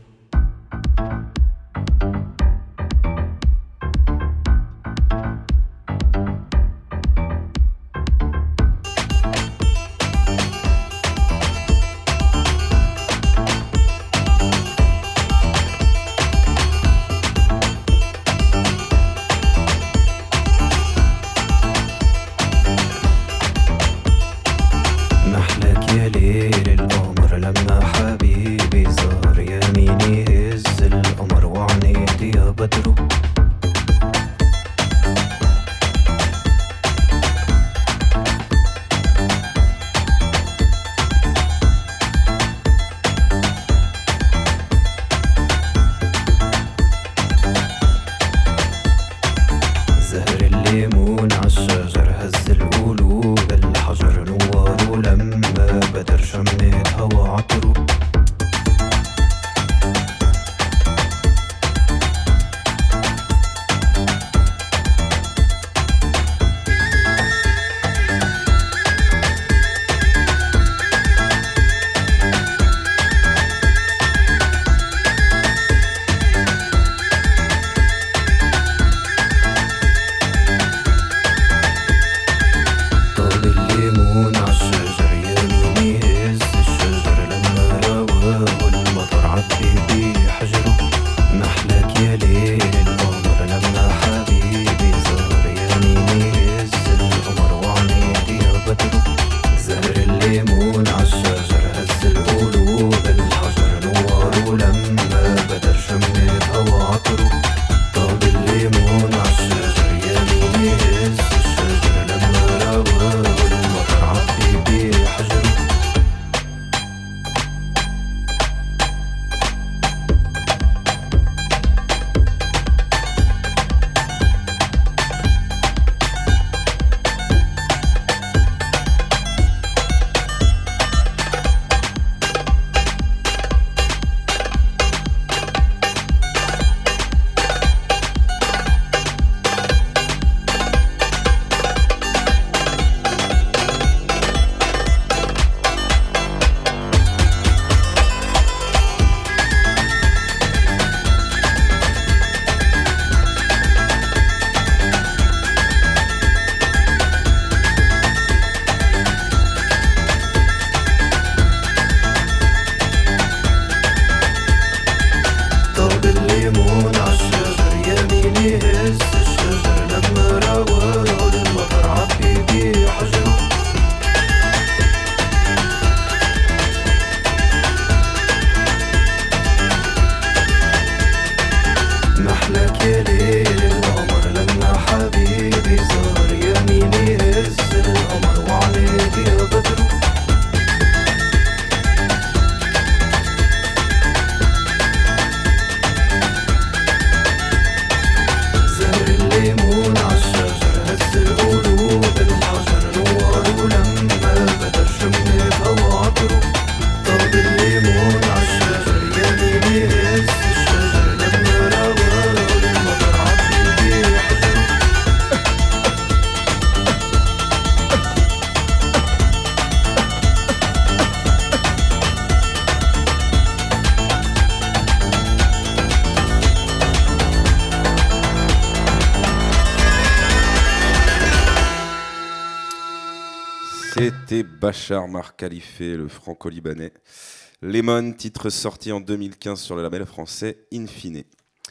C'était Bachar Mar Khalife, le franco-libanais. Lemon, titre sorti en 2015 sur le label français Infine.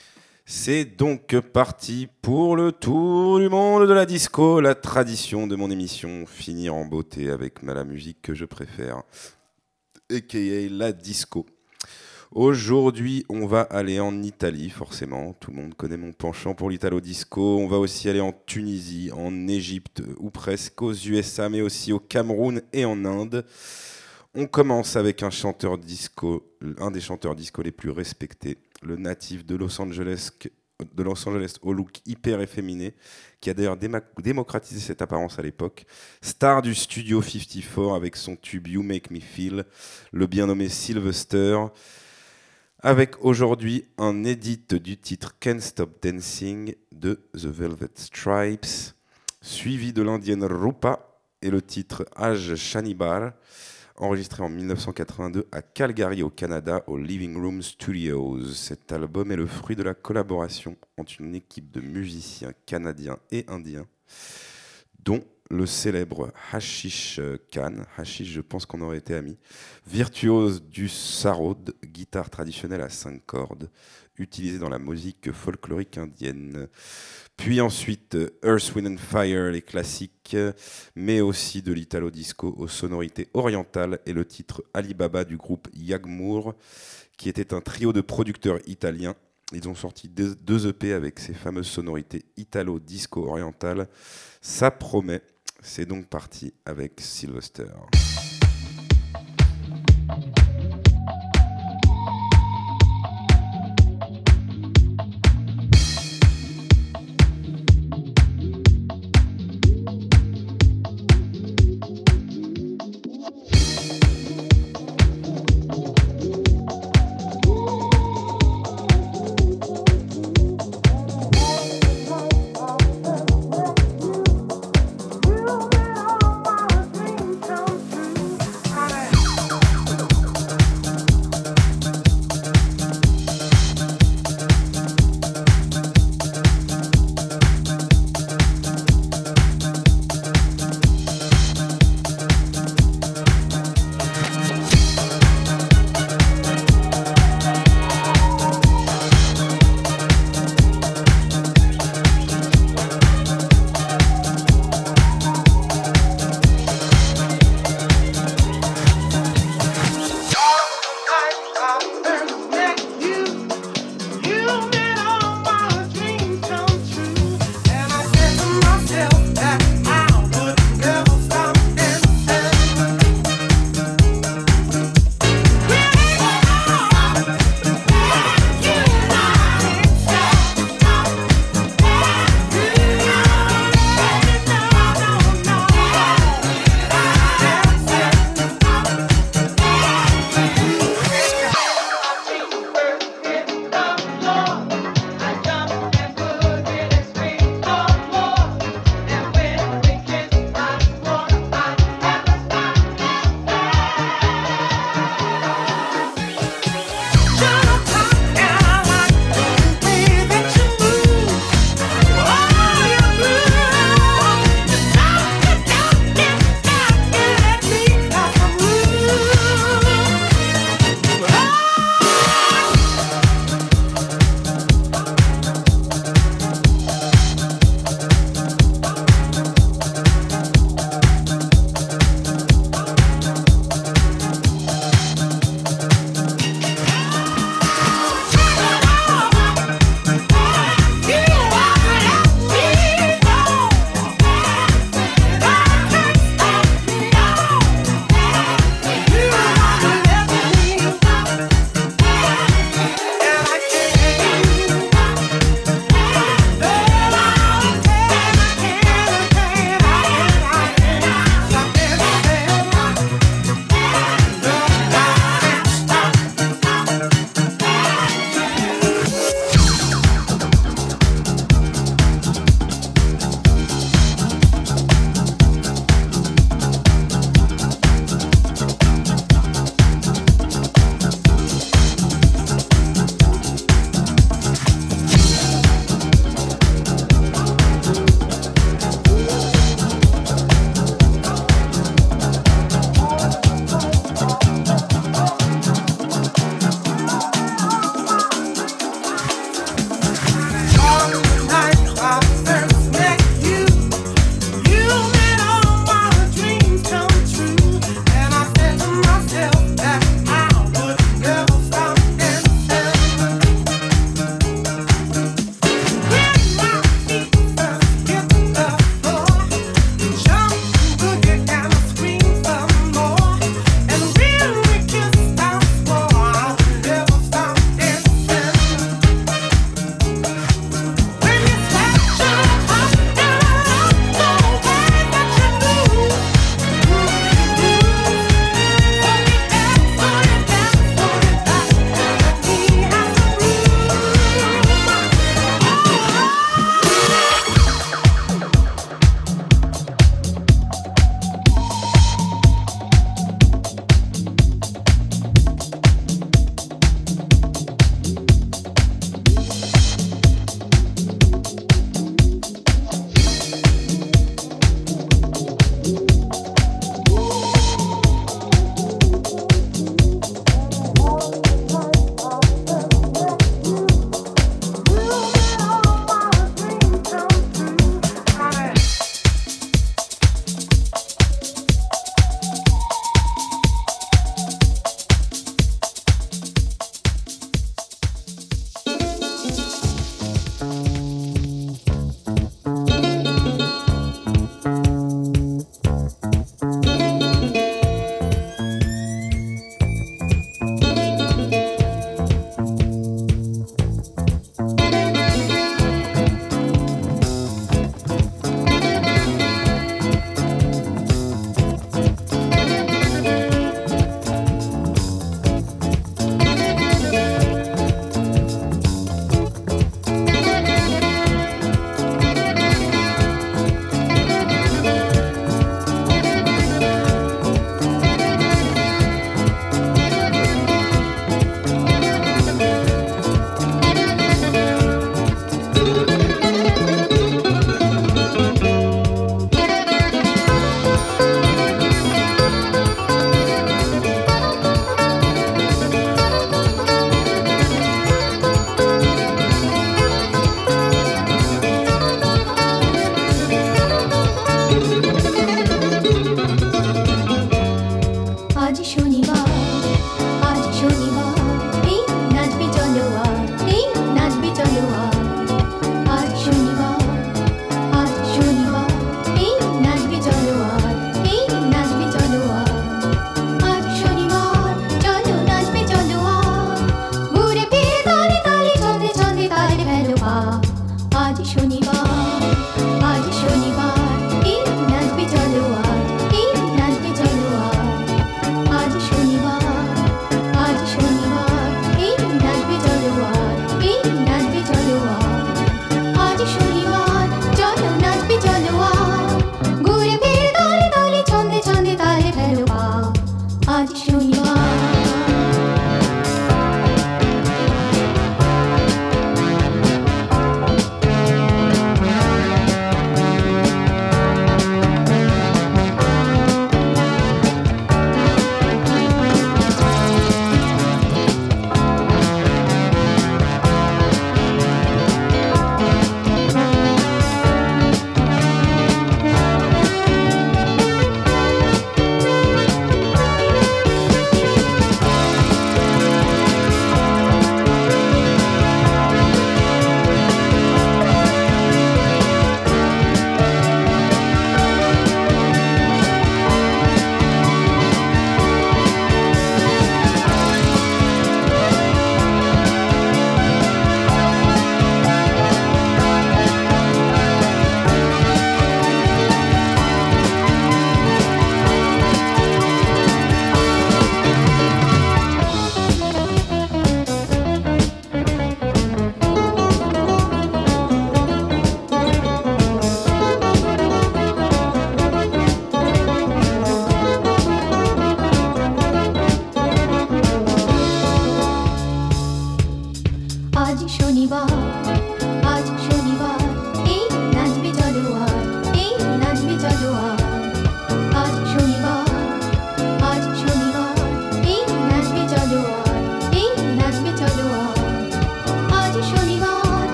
C'est donc parti pour le tour du monde de la disco, la tradition de mon émission, finir en beauté avec la musique que je préfère, a.k.a. la disco. Aujourd'hui, on va aller en Italie, forcément. Tout le monde connaît mon penchant pour l'italo-disco. On va aussi aller en Tunisie, en Égypte, ou presque aux USA, mais aussi au Cameroun et en Inde. On commence avec un chanteur disco, un des chanteurs disco les plus respectés, le natif de Los Angeles au look hyper efféminé, qui a d'ailleurs démocratisé cette apparence à l'époque. Star du Studio 54 avec son tube You Make Me Feel, le bien nommé Sylvester, avec aujourd'hui un edit du titre Can't Stop Dancing de The Velvet Stripes suivi de l'indienne Rupa et le titre Aj Shanibar, enregistré en 1982 à Calgary au Canada au Living Room Studios. Cet album est le fruit de la collaboration entre une équipe de musiciens canadiens et indiens, dont le célèbre Hashish Khan, Hashish, je pense qu'on aurait été amis, virtuose du sarod, guitare traditionnelle à 5 cordes, utilisée dans la musique folklorique indienne. Puis ensuite Earth, Wind and Fire, les classiques, mais aussi de l'italo disco aux sonorités orientales et le titre Alibaba du groupe Yagmour, qui était un trio de producteurs italiens. Ils ont sorti 2 EP avec ces fameuses sonorités italo disco orientales. Ça promet. C'est donc parti avec Sylvester.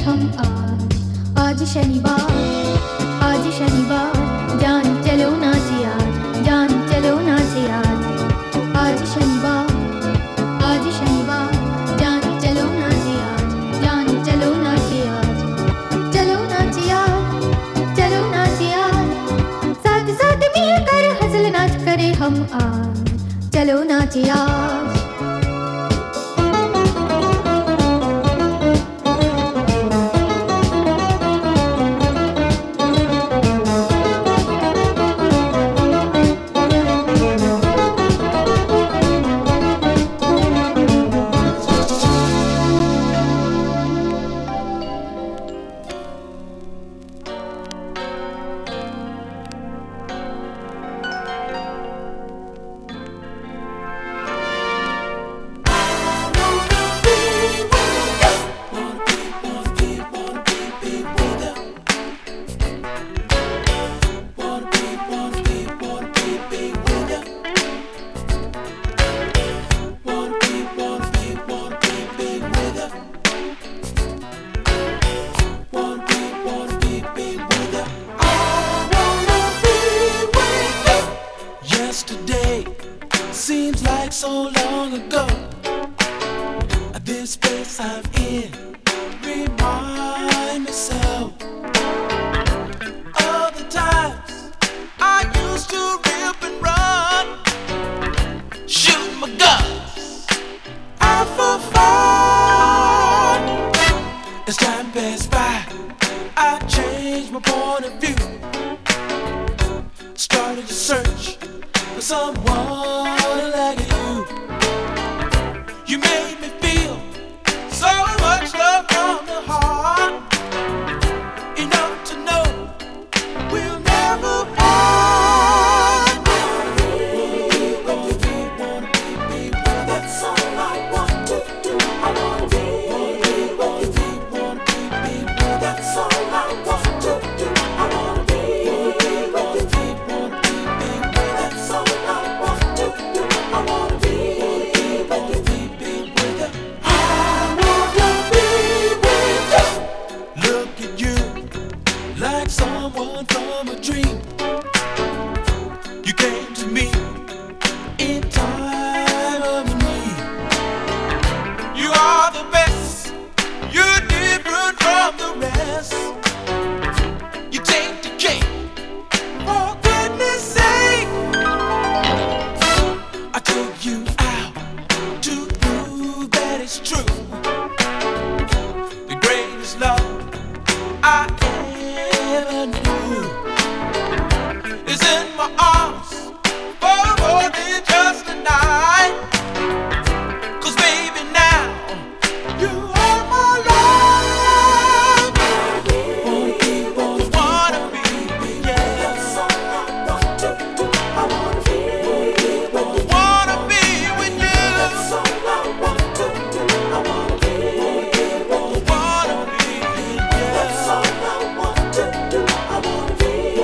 हम आज शनिवार जान चलो नाचे आज आज शनिवार जान चलो नाचे आज चलो नाचे आज साथ साथ मिलकर हंसल नाच करे हम आज चलो नाचे आज Seems like so long ago. This place I'm in remind me so of the times I used to rip and run, shoot my guns out for fun. As time passed by, I changed my point of view. Started to search for someone like you. You made me feel so much love from the heart, enough to know we'll never part. That's all I want to do. I wanna be with you. That's all I want to do. I wanna be with you. That's all I want to do. I wanna be with you. Look at you, like someone from a dream. You came to me in time of need. You are the best, you're different from the rest. You take the cake, for goodness sake. I took you out to prove that it's true. The greatest love I ever knew is in my arms for more than just a night. 'Cause baby now you are my life. Wanna be, yeah. That's all I want to do. I wanna be with you. Wanna be with you. That's all I want to do. I wanna be with you. Wanna be, yeah. That's all I want to do. I wanna be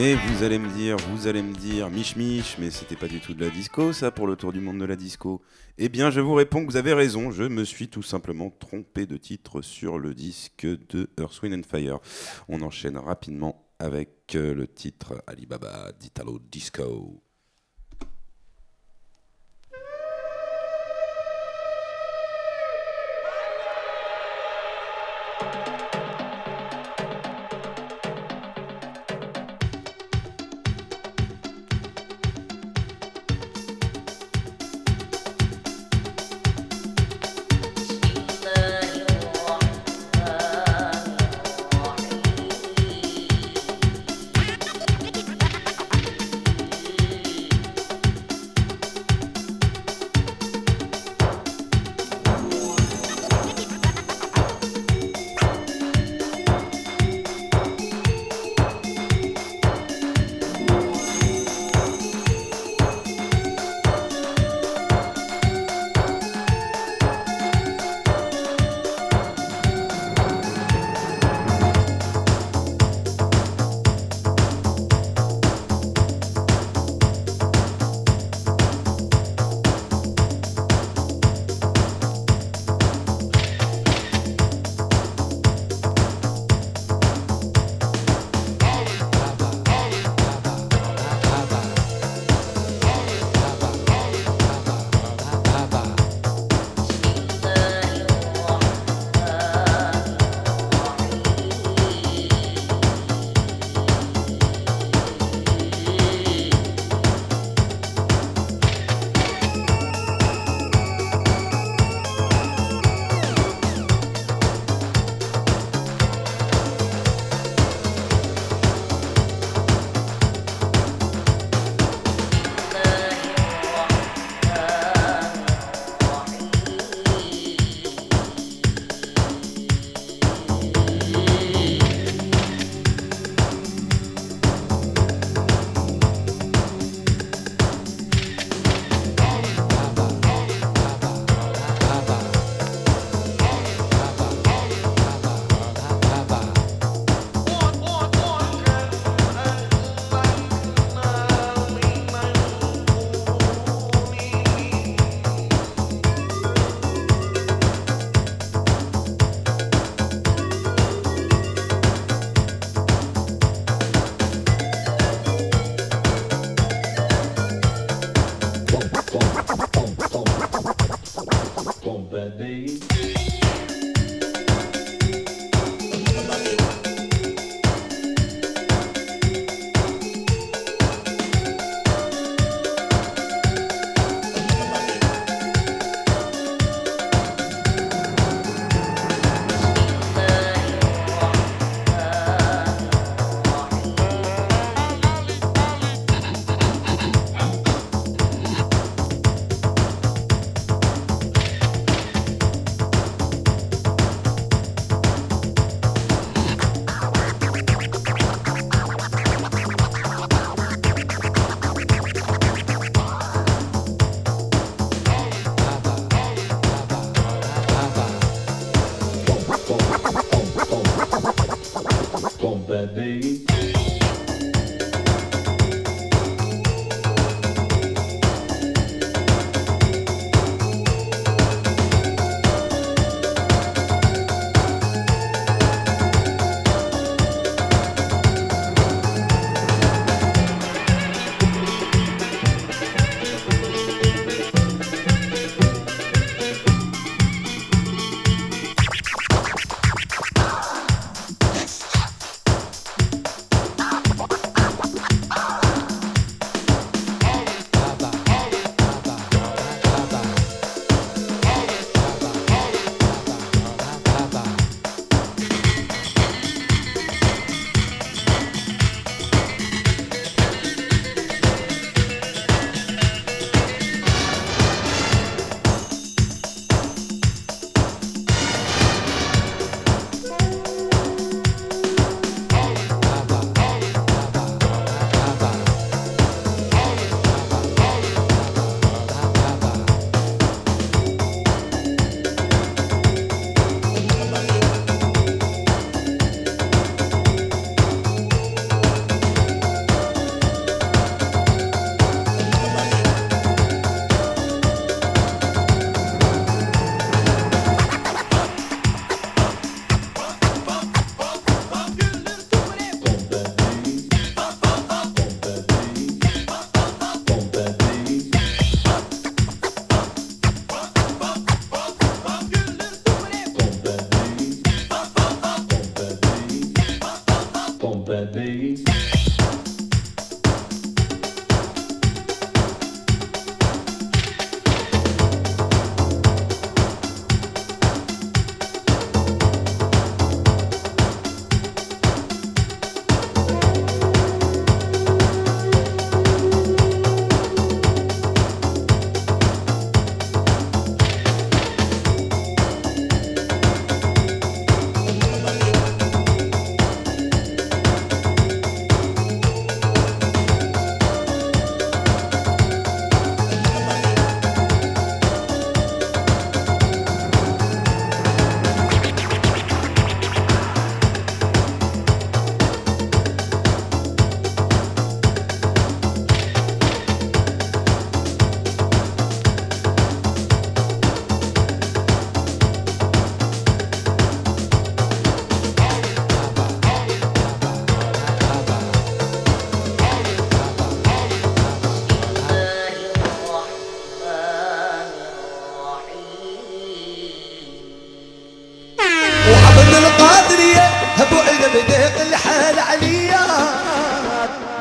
Mais vous allez me dire, Mich Mich, mais c'était pas du tout de la disco, ça, pour le tour du monde de la disco. Eh bien, je vous réponds que vous avez raison, je me suis tout simplement trompé de titre sur le disque de Earth, Wind & Fire. On enchaîne rapidement avec le titre Alibaba d'Italo Disco. Thank you.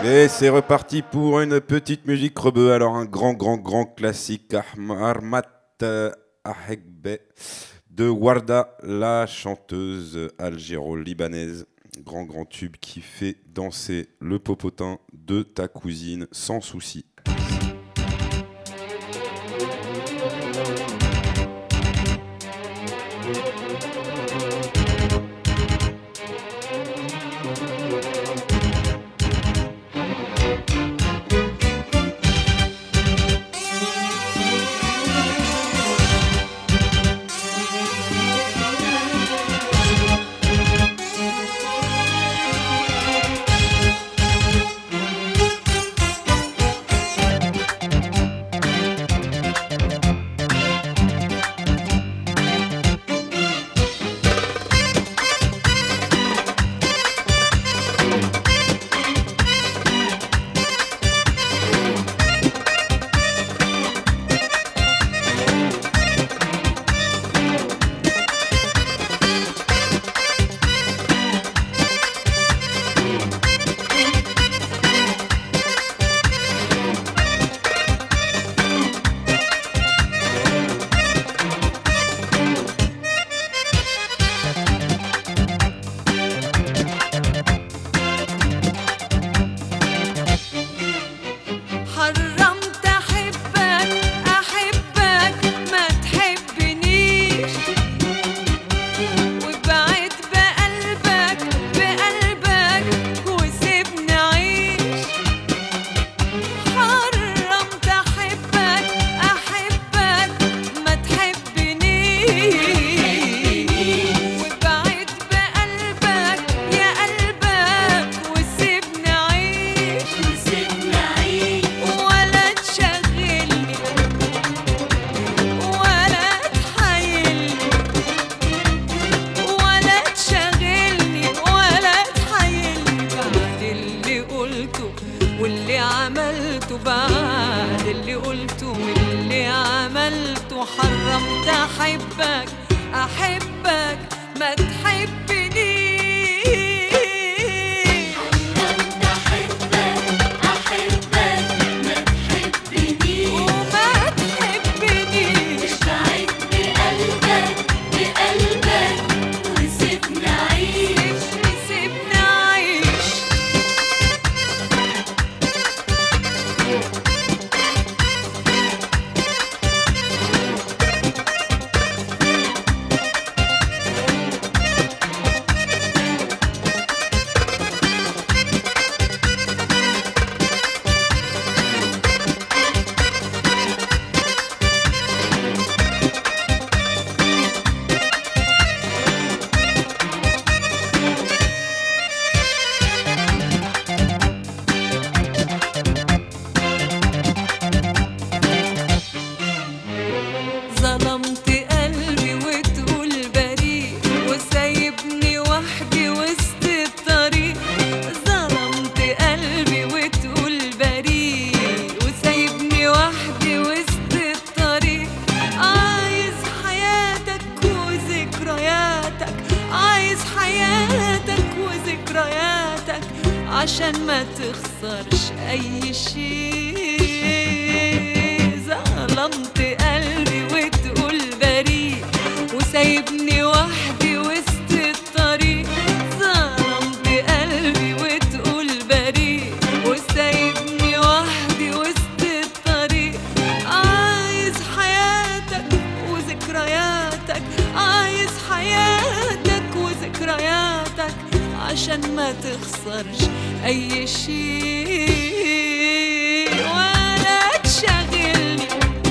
Et c'est reparti pour une petite musique rebeu. Alors un grand classique, Armat Ahegbe de Warda, la chanteuse algéro-libanaise. Grand tube qui fait danser le popotin de ta cousine sans souci. عشان ما تخسرش أي شيء. ظلمت قلبي وتقول بريء وسايبني وحدي وسط الطريق. ظلمت قلبي وتقول بريء وسايبني وحدي وسط الطريق. عايز حياتك وذكرياتك، عايز حياتك وذكرياتك عشان ما تخسرش أي شيء. ولا تشغلني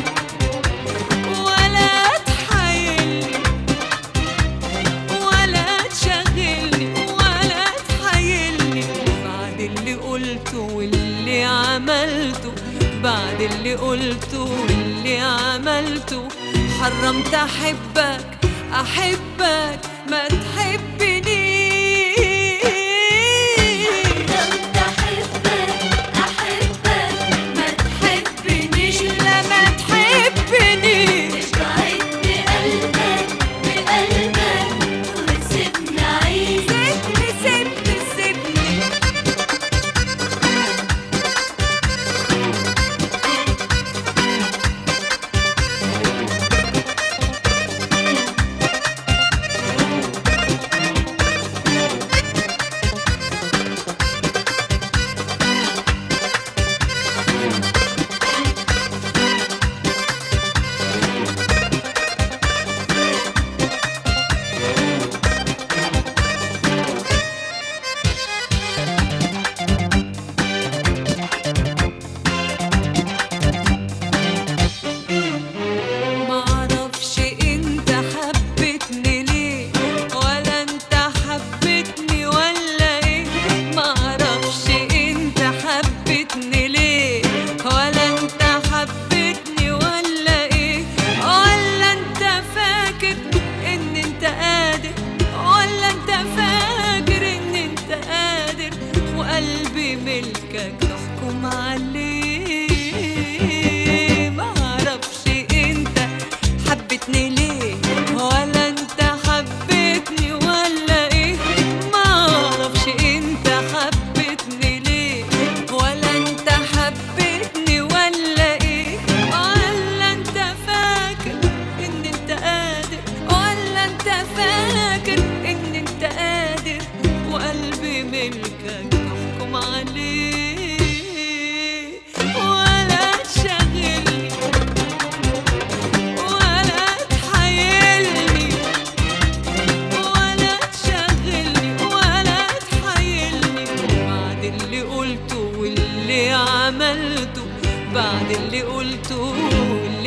ولا تحايلني، ولا تشغلني ولا تحايلني. بعد اللي قلته واللي عملته، بعد اللي قلته واللي عملته، حرمت أحبك أحبك ما تحبني.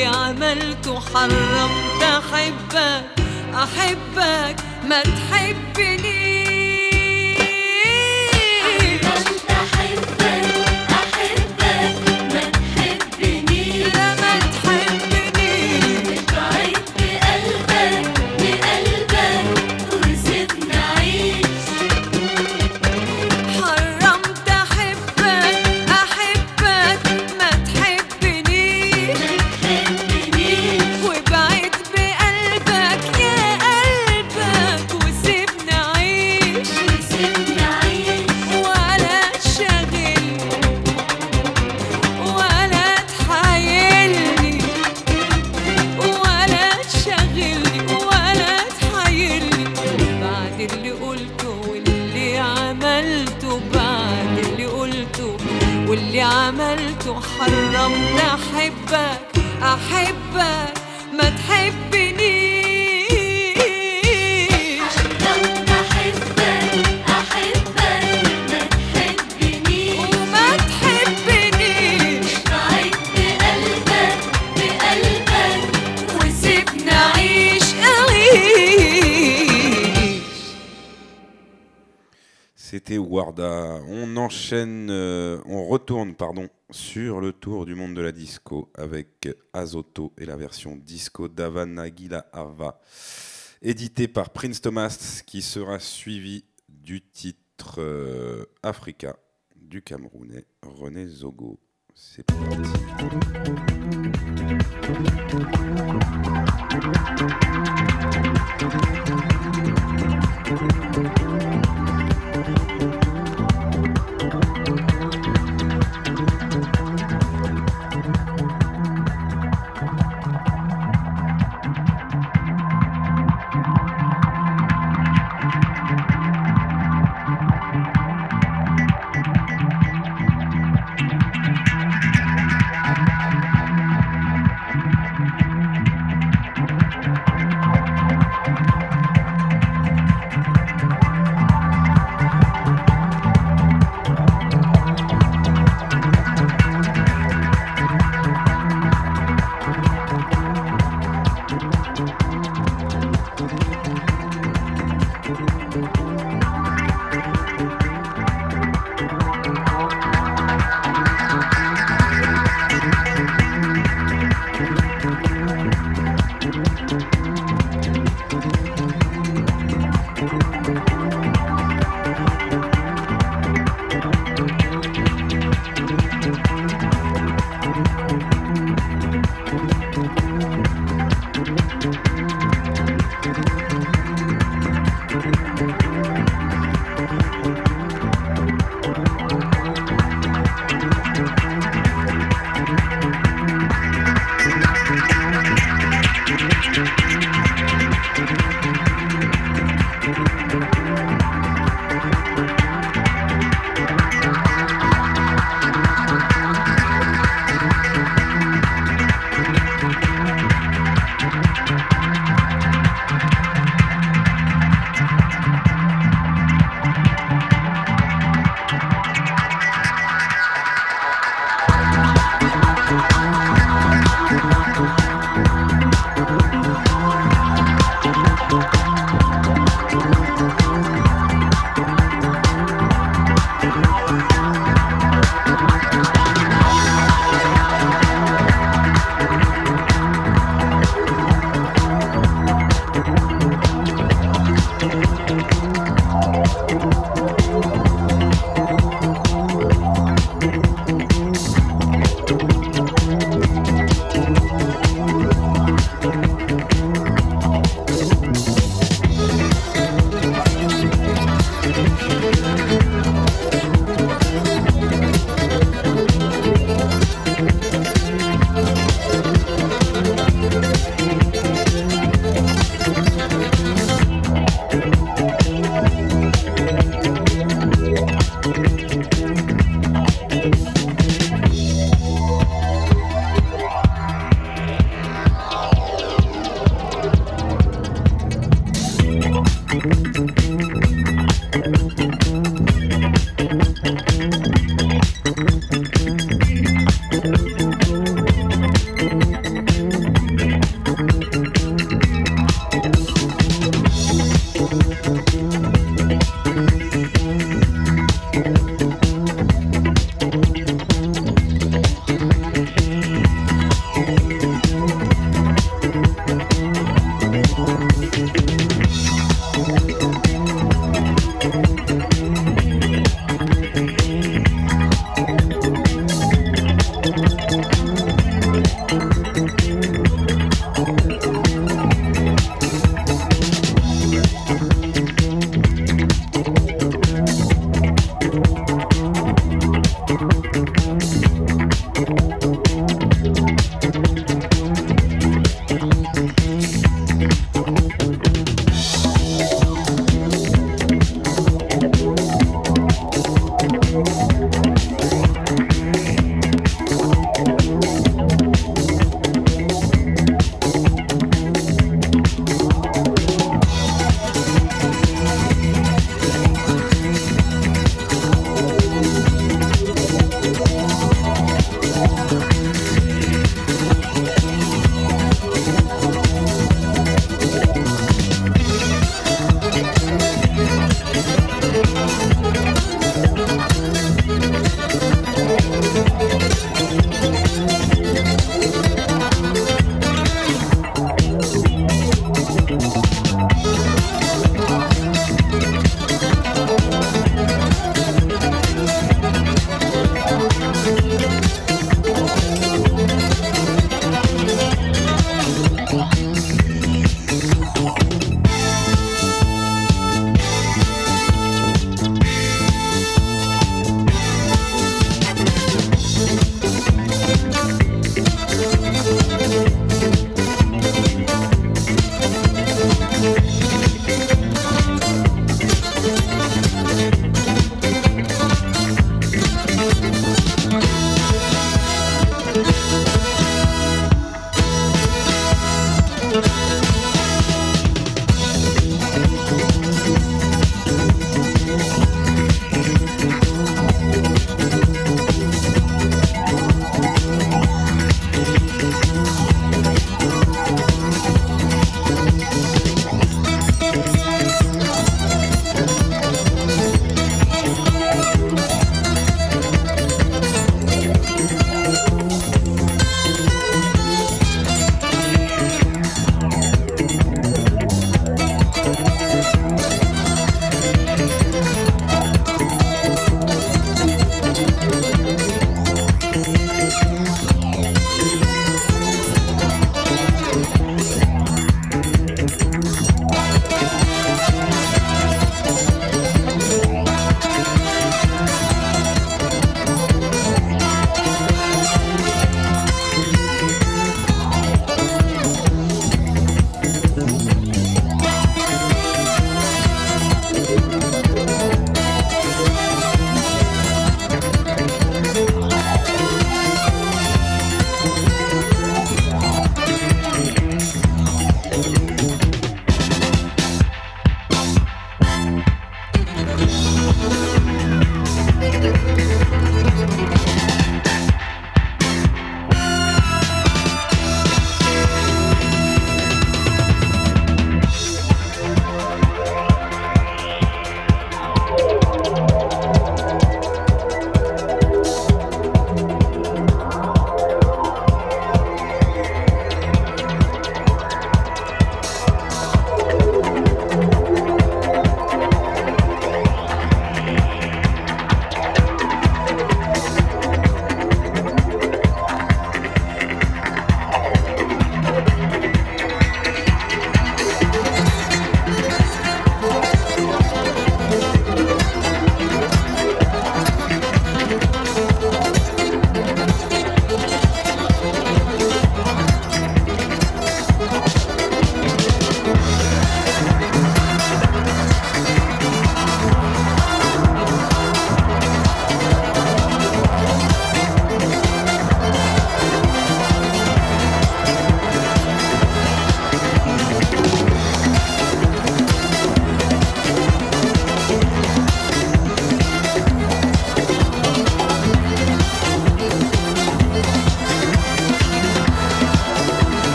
واللي عملته حرمت أحبك أحبك ما تحبني واللي عملته حرمت أحبك أحبك ما تحبنيش حرمت أحبك أحبك ما تحبنيش وما تحبنيش بعيد بقلبك بقلبك وسيبني أعيش C'était Warda. On enchaîne, on retourne sur le tour du monde de la disco avec Azoto et la version disco d'Avanagila Ava, édité par Prince Thomas, qui sera suivi du titre Africa du Camerounais René Zogo. C'est parti.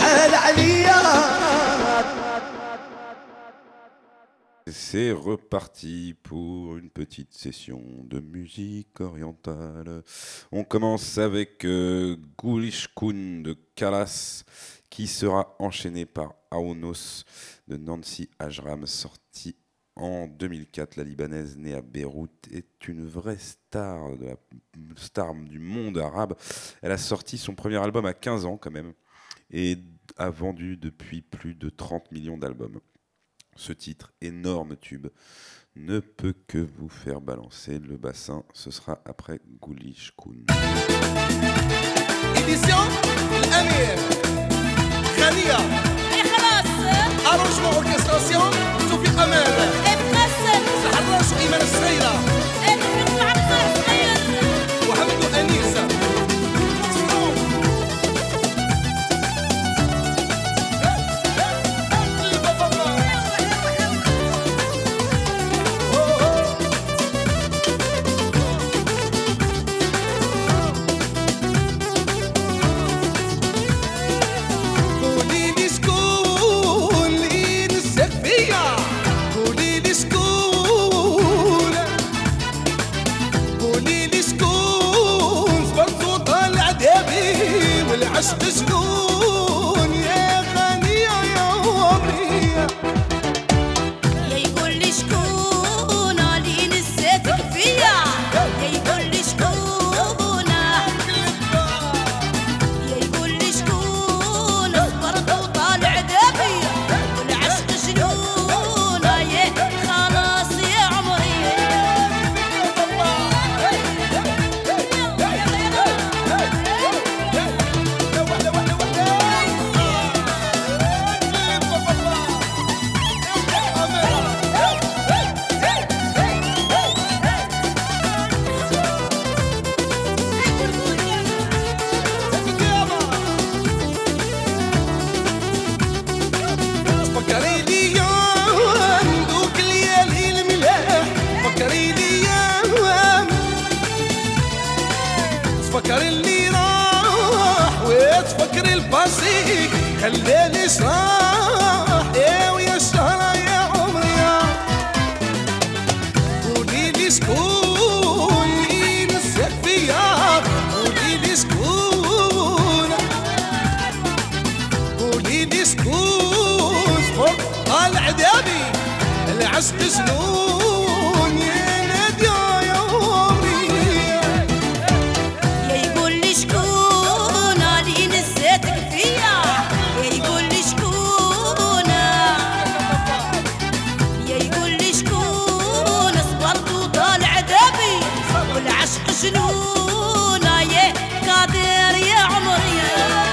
C'est reparti pour une petite session de musique orientale. On commence avec Gulishkun de Kalas, qui sera enchaîné par Aounos de Nancy Ajram, sorti en 2004. La Libanaise née à Beyrouth est une vraie star, star du monde arabe. Elle a sorti son premier album à 15 ans quand même et a vendu depuis plus de 30 millions d'albums. Ce titre, énorme tube, ne peut que vous faire balancer le bassin. Ce sera après Gulishkun. Édition الأمير غنية أرانجمون أوركستراسيون توفيق أمال الحراش وإيمان السريرة وحمد أنيس عشق جنون يا غنية يا عمرية يا يقول لي شكون اللي نسيتك فيا يا يقول لي شكون يا يقول لي شكون صبرت وطالع دابي والعشق جنون يا خلاص يا عمري فكري لي يوم دوك الليالي الملاح فكري لي يوم تفكر اللي راح وتفكر الباسي خلاني صراح يا ويا الشهرة يا عمري قولي لي شكون اللي نسيت فيا قولي لي شكون قولي لي شكون صبر طالع دابي العشق جنون يا نادية يا عمري يا يقول لي شكون اللي نسيتك فيا يا يقول لي شكون يا يقول لي شكون صبرت وطالع دابي والعشق جنون يا قادر يا عمري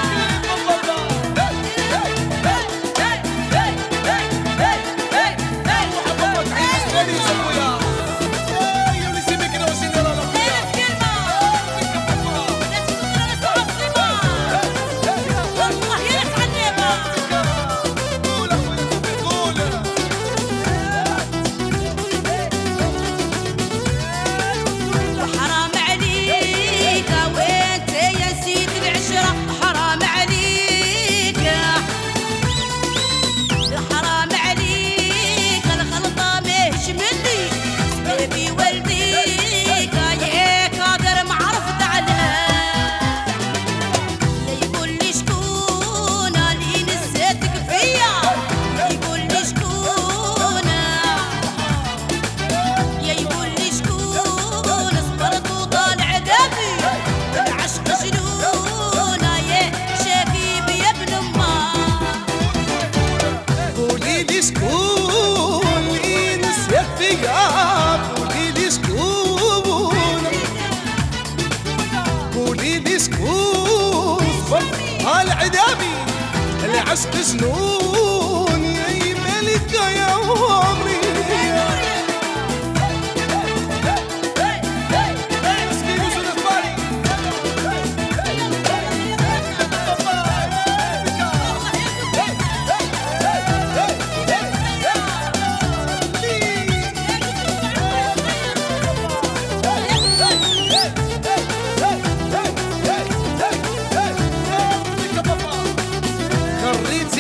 حرام عليك وانت يا سيد العشرة حرام عليك حرام عليك الخلطة ماهيش مني سبابي والديك يا قادر ما عرفت علاه يا يقول لي شكون اللي نسيتك فيا يا يقول لي شكون يا يقول لي شكون صبرت وطالع دابي العشق جنون يا شبيب يا ابن امه قولي لي شكون اللي نسيت فيا قولي لي شكون قولي لي شكون صبر طالع دابي العشق جنون يا ملكة يا عمري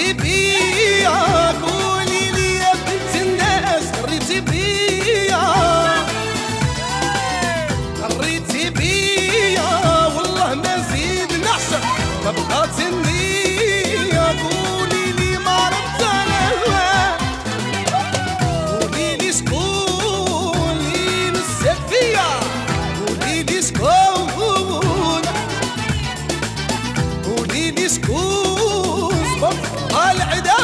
قريتي بيا قولي لي يا بنت الناس قريتي بيا قريتي بيا والله ما زيد نحشر ما بقات النية قولي لي ما عرفت انا قولي لي شكون اللي مسك فيا قولي لي شكون قولي لي شكون صبر العدا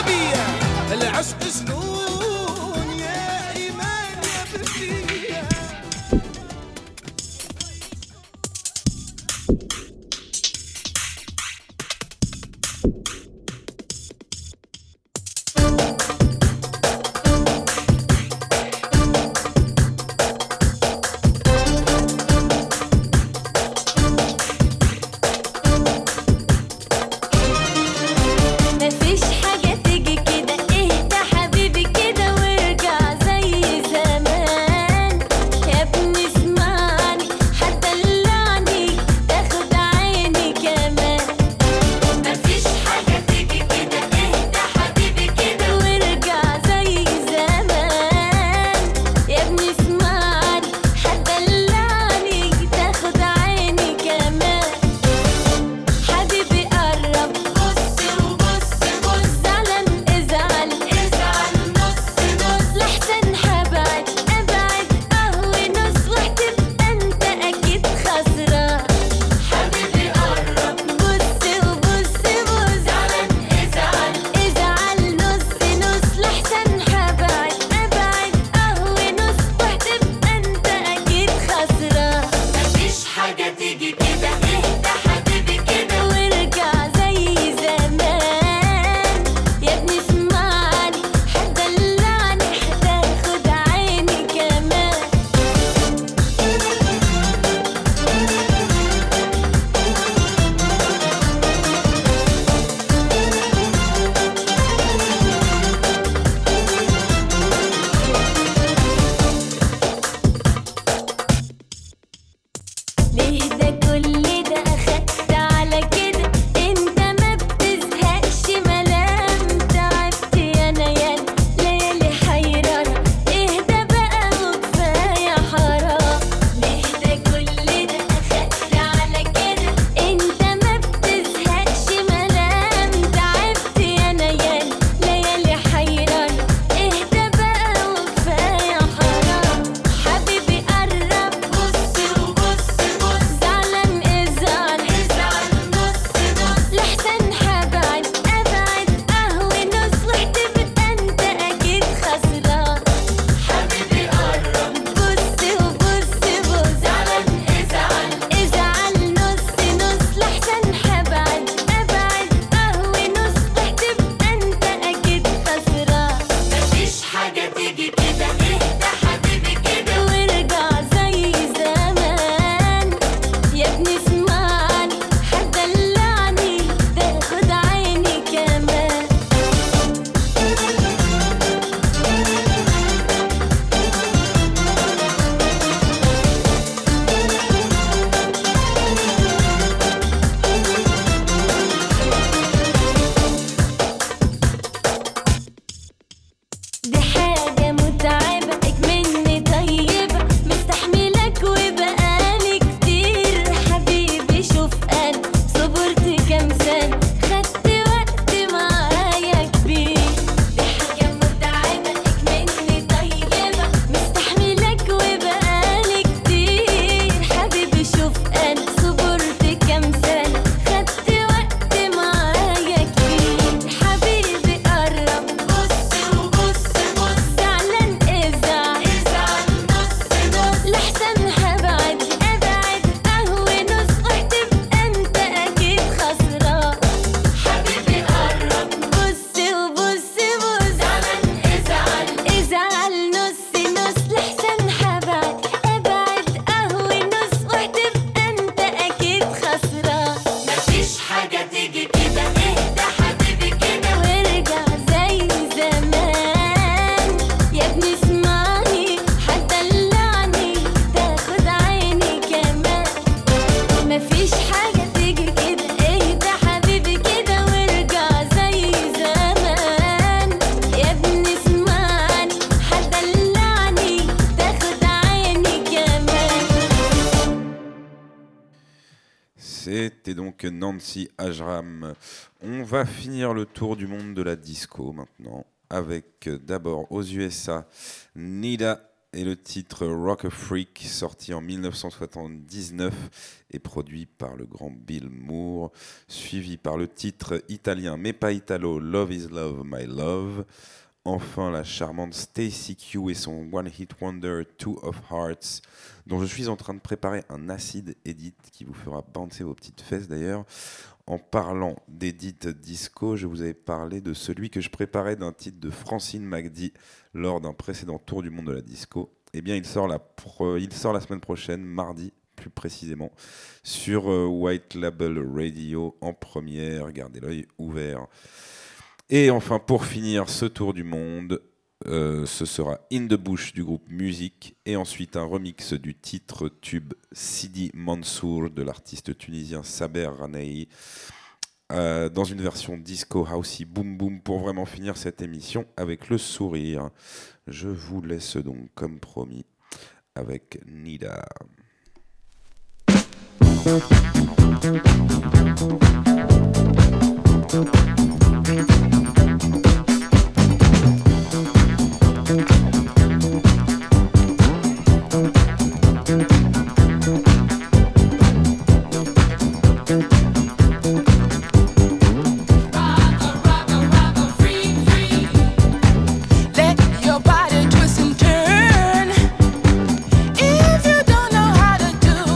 avec Nancy Ajram. On va finir le tour du monde de la disco maintenant, avec d'abord aux USA Nida et le titre Rock a Freak, sorti en 1979 et produit par le grand Bill Moore, suivi par le titre italien mais pas italo Love is Love, My Love. Enfin, la charmante Stacy Q et son One Hit Wonder Two of Hearts, dont je suis en train de préparer un acid edit qui vous fera bouncer vos petites fesses d'ailleurs. En parlant d'edit disco, je vous avais parlé de celui que je préparais d'un titre de Francine McDee lors d'un précédent tour du monde de la disco. Eh bien, il sort la semaine prochaine, mardi plus précisément, sur White Label Radio en première. Gardez l'œil ouvert. Et enfin, pour finir ce tour du monde, ce sera In the Bush du groupe Music et ensuite un remix du titre tube Sidi Mansour de l'artiste tunisien Saber Ranei dans une version disco housey boom boom pour vraiment finir cette émission avec le sourire. Je vous laisse donc comme promis avec Nida.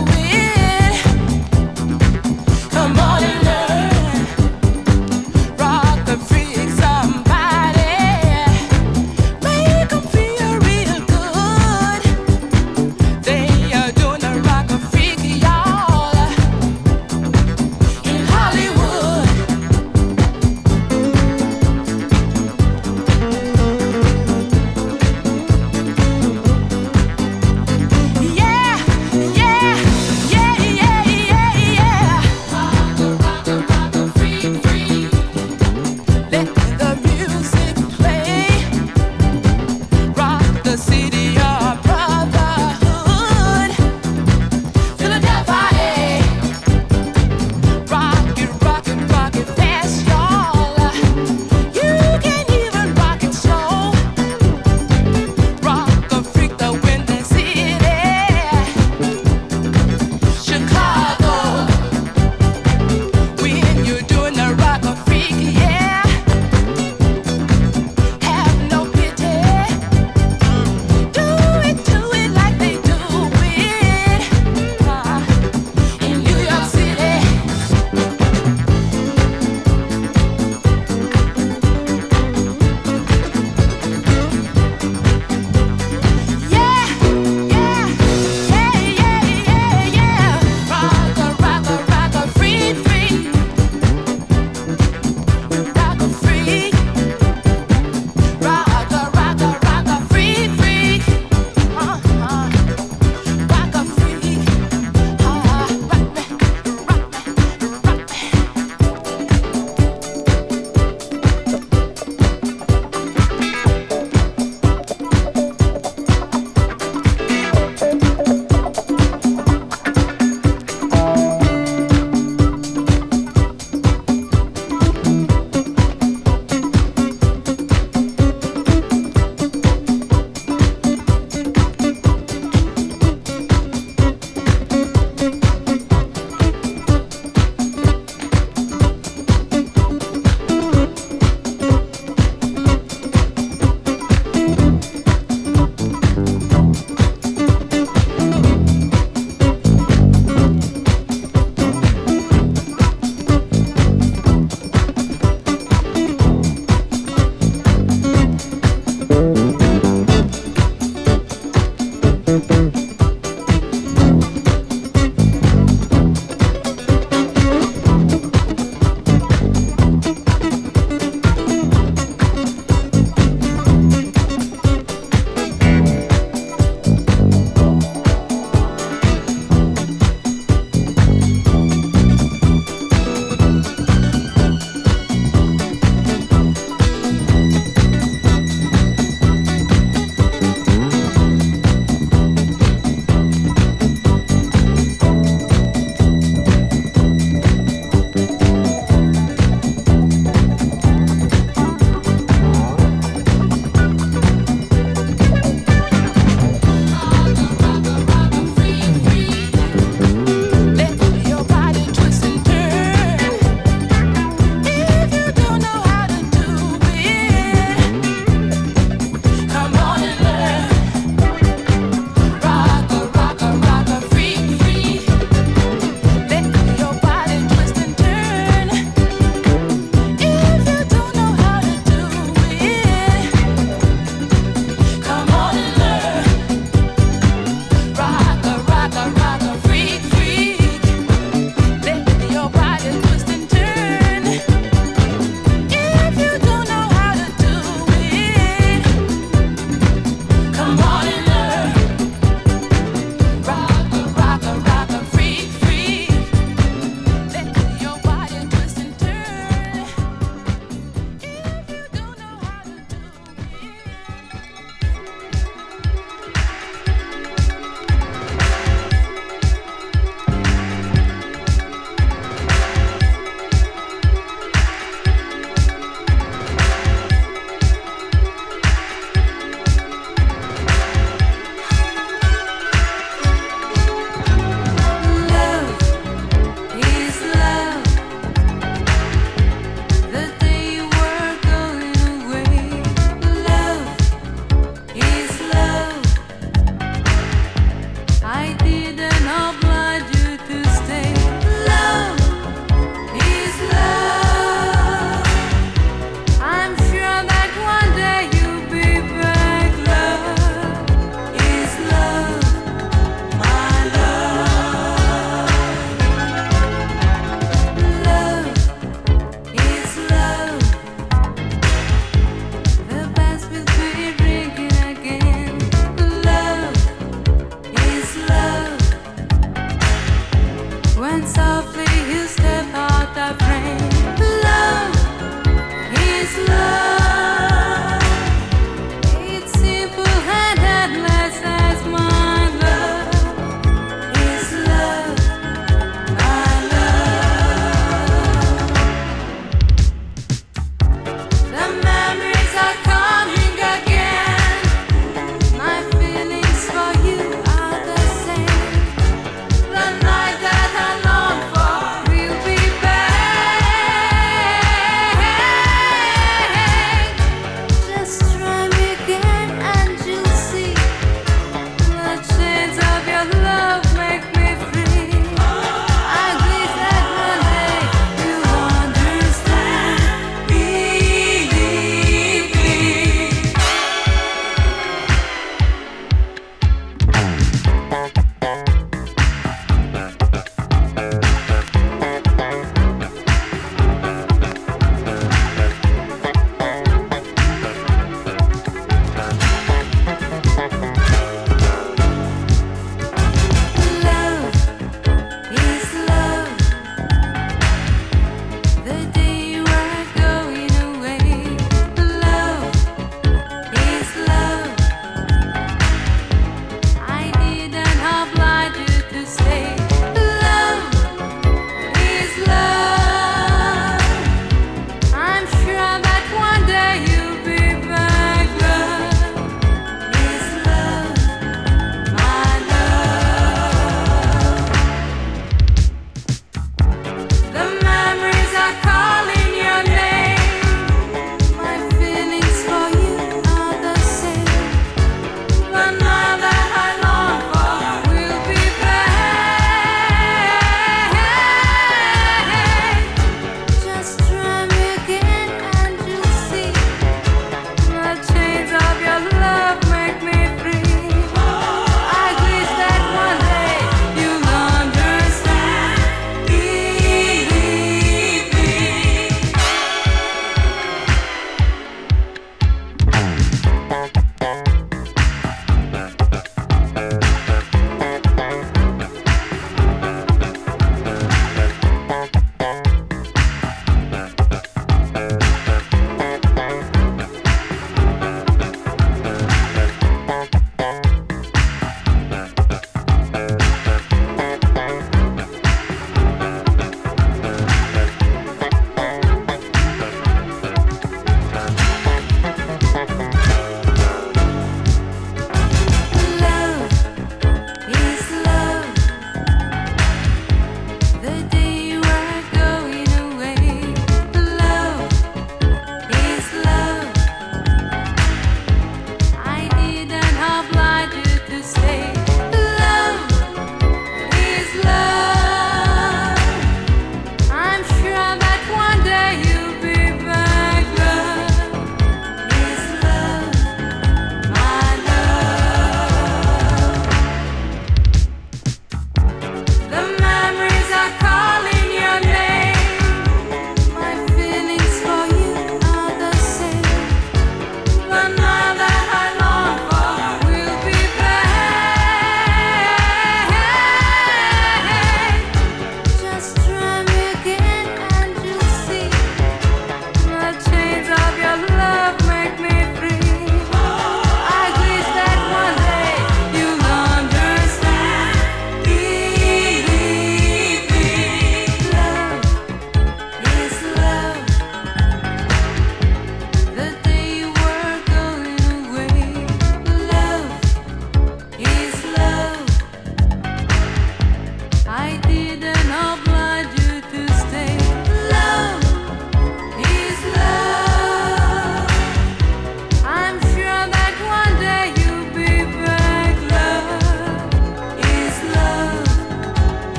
Rock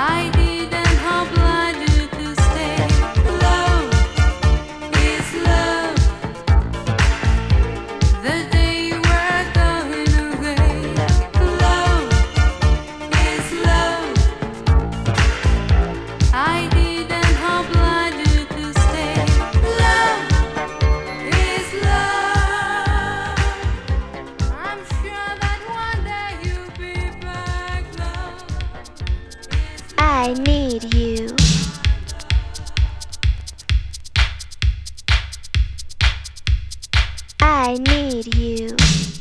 I didn't oblige you to stay. Love is love. The day you were going away. Love is love. I didn't oblige you to stay. Love is love. I'm sure that one day you'll be back. Love. I need you. I need you.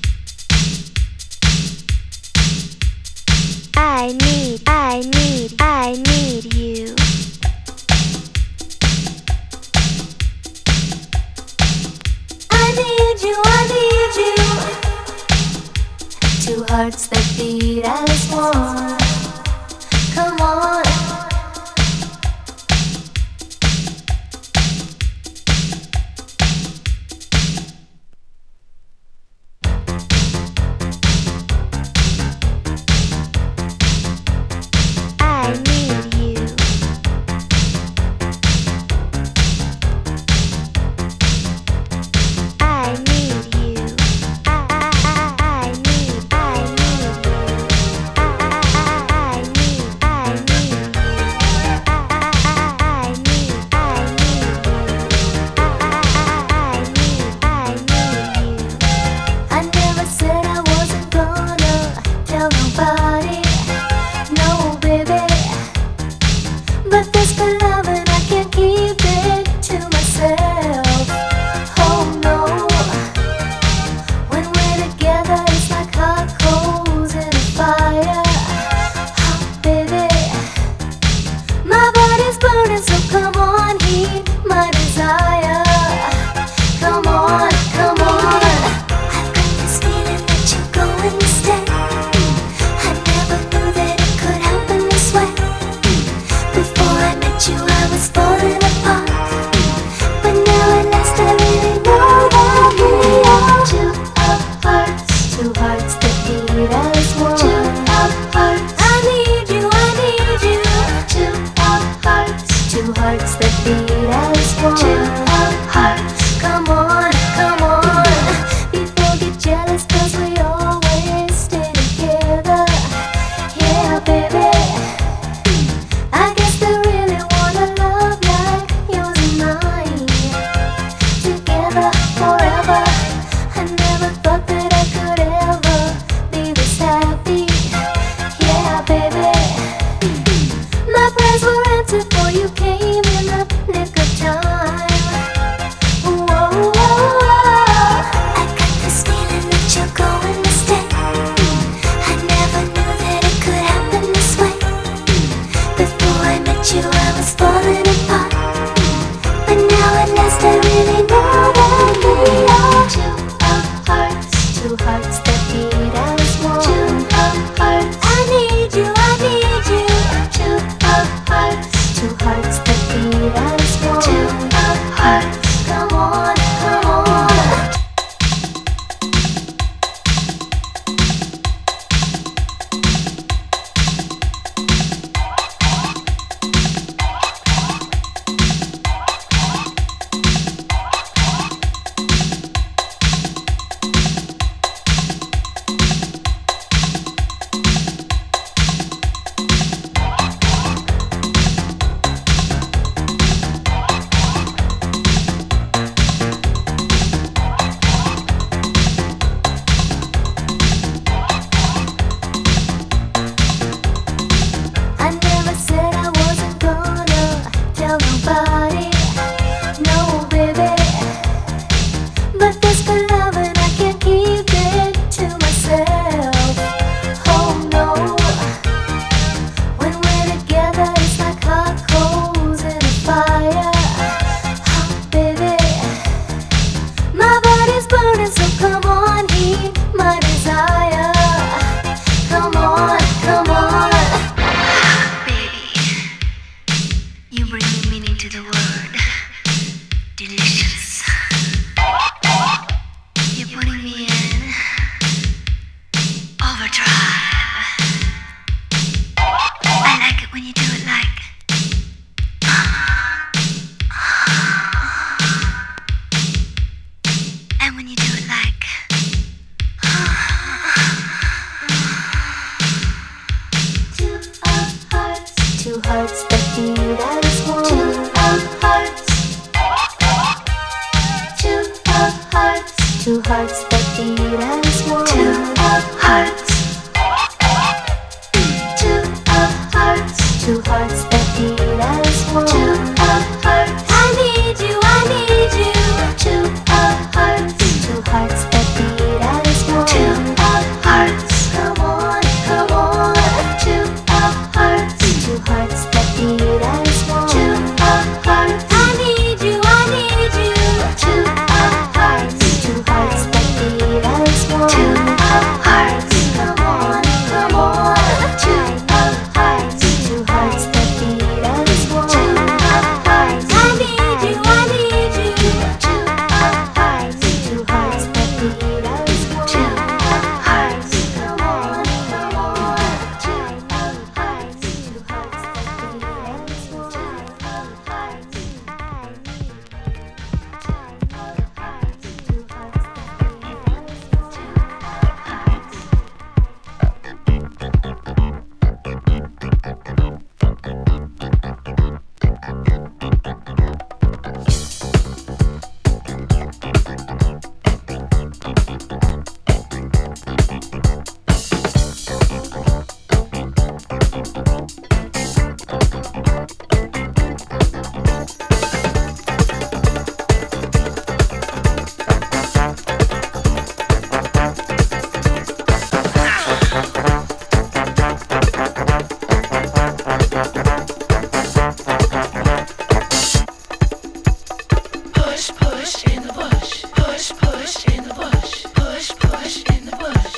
I need you. I need you. Two hearts that beat as one. Come on. I need you. I need you. I need you. I never said I wasn't gonna tell nobody. No, baby. But this good love and I can't keep it to myself. Oh no. When we're together it's like hot coals in a fire. Oh, baby. My body's burning, so come on, heat my desire. Come on, come on. I've got this feeling that you're going to stay. I never knew that it could happen this way. Before I met you, I was falling apart. But now at last I really know that we are two hearts that beat as one. Two hearts. I need you. Two hearts that beat as one. Two hearts. Come on. People get jealous 'cause we always stay together. Yeah, baby. I guess they really want a love like yours and mine. Together forever. I never thought that I could ever be this happy. Yeah, baby. My prayers were answered for you came in the nick of time. Two hearts that beat as one. Two of hearts. Two of hearts. Two hearts that beat as one. Two of hearts. Two of hearts. Two hearts that beat as one. Two of hearts. I need you, I need you. Two of hearts. Two hearts that beat as one. Two of hearts. Come on, come on. Two of hearts. Two hearts that beat as one. Two of hearts. I need you, I need you. Two of hearts. Two hearts that beat as one. Two of hearts. Come on, come on. Two of hearts. Two hearts that beat as one. Two of hearts. I need you, I need you. Two of hearts. Two hearts that beat as one. Two of hearts. Come on, come on. Two of hearts. Two hearts that beat as one. Two of hearts. Push, push in the bush. Push, push in the bush. Push, push in the bush.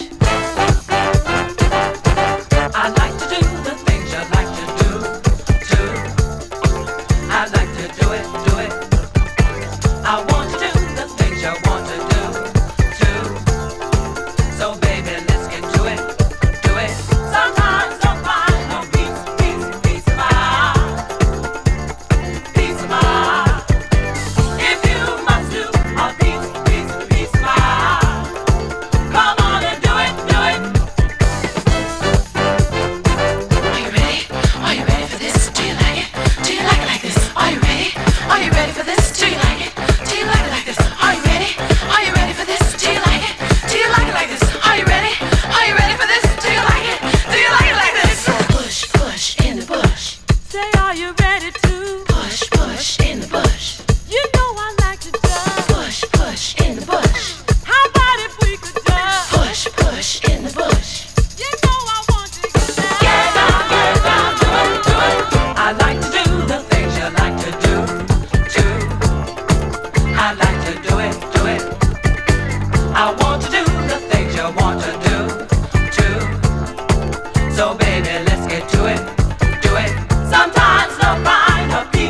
I like to do the things you like to do, too. I like to do it, do it. I want to do the things you want to do, too. So baby, let's get to it, do it. Sometimes I'll find a piece of mind, piece of mind. If you must do a piece of mind, come on and do it, do it. Are you ready? Are you ready for this? Do you like it? Do you like it like this? Are you ready? Are you ready for this? Do you like it? Do you like it like this? Are you ready? Are you ready for this? Do you like it? Do you like it like this? Are you ready? Are you ready for this? Do you like it? Do you like it like this? Push, push in the bush. Say, are you ready to Push, push in the bush. You know I like to dance. Push, push in the bush. How about if we could dance? Push, push in the bush. You know I want to get down. Get down, do it, do it. I like to do the things you like to do, too. I like to do it, do it. I want to do the things you want to do, too. So baby, let's get to it, do it. Sometimes I'll find a piece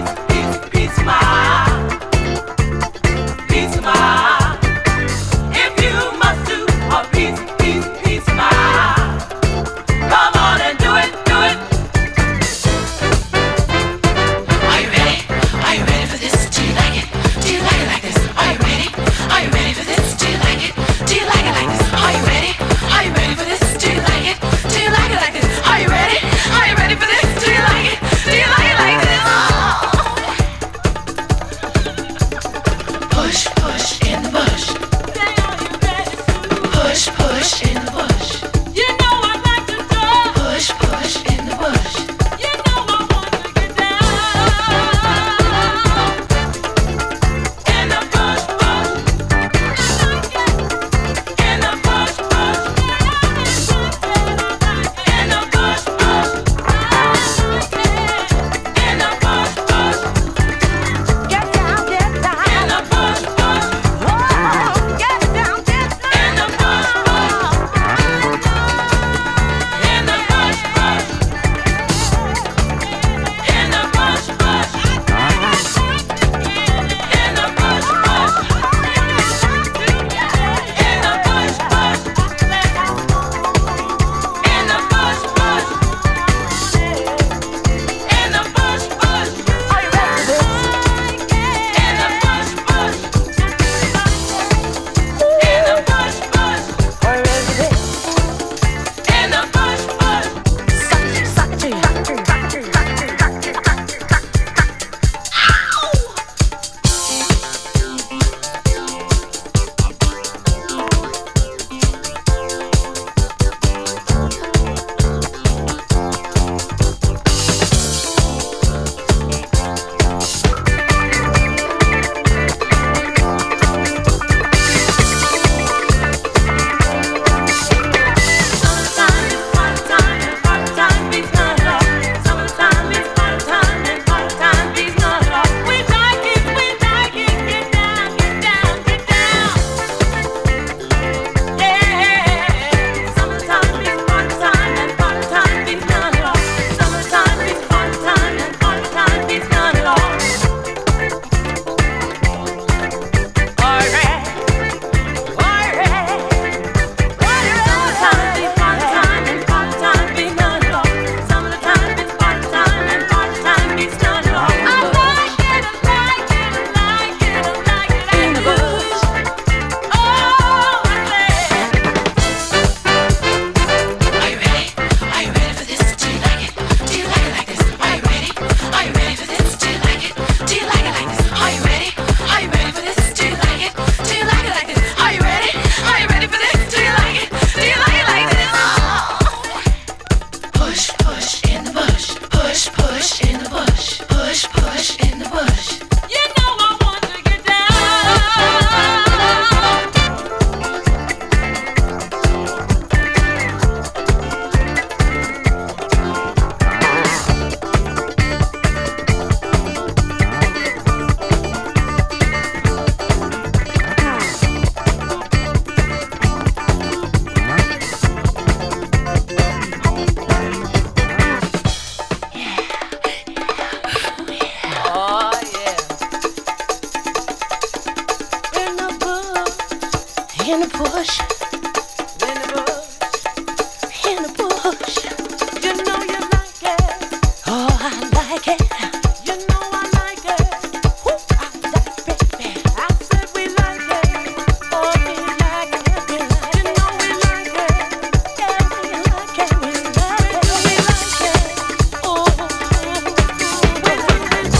bush. In the bush. In the bush. You know you like it. Oh, I like it. You know I like it. Ooh, I like it, baby. I said we like it. Oh, we like it. We like it. You know we like it. Yeah, we like it. We like it. We like it. Oh, when we want it.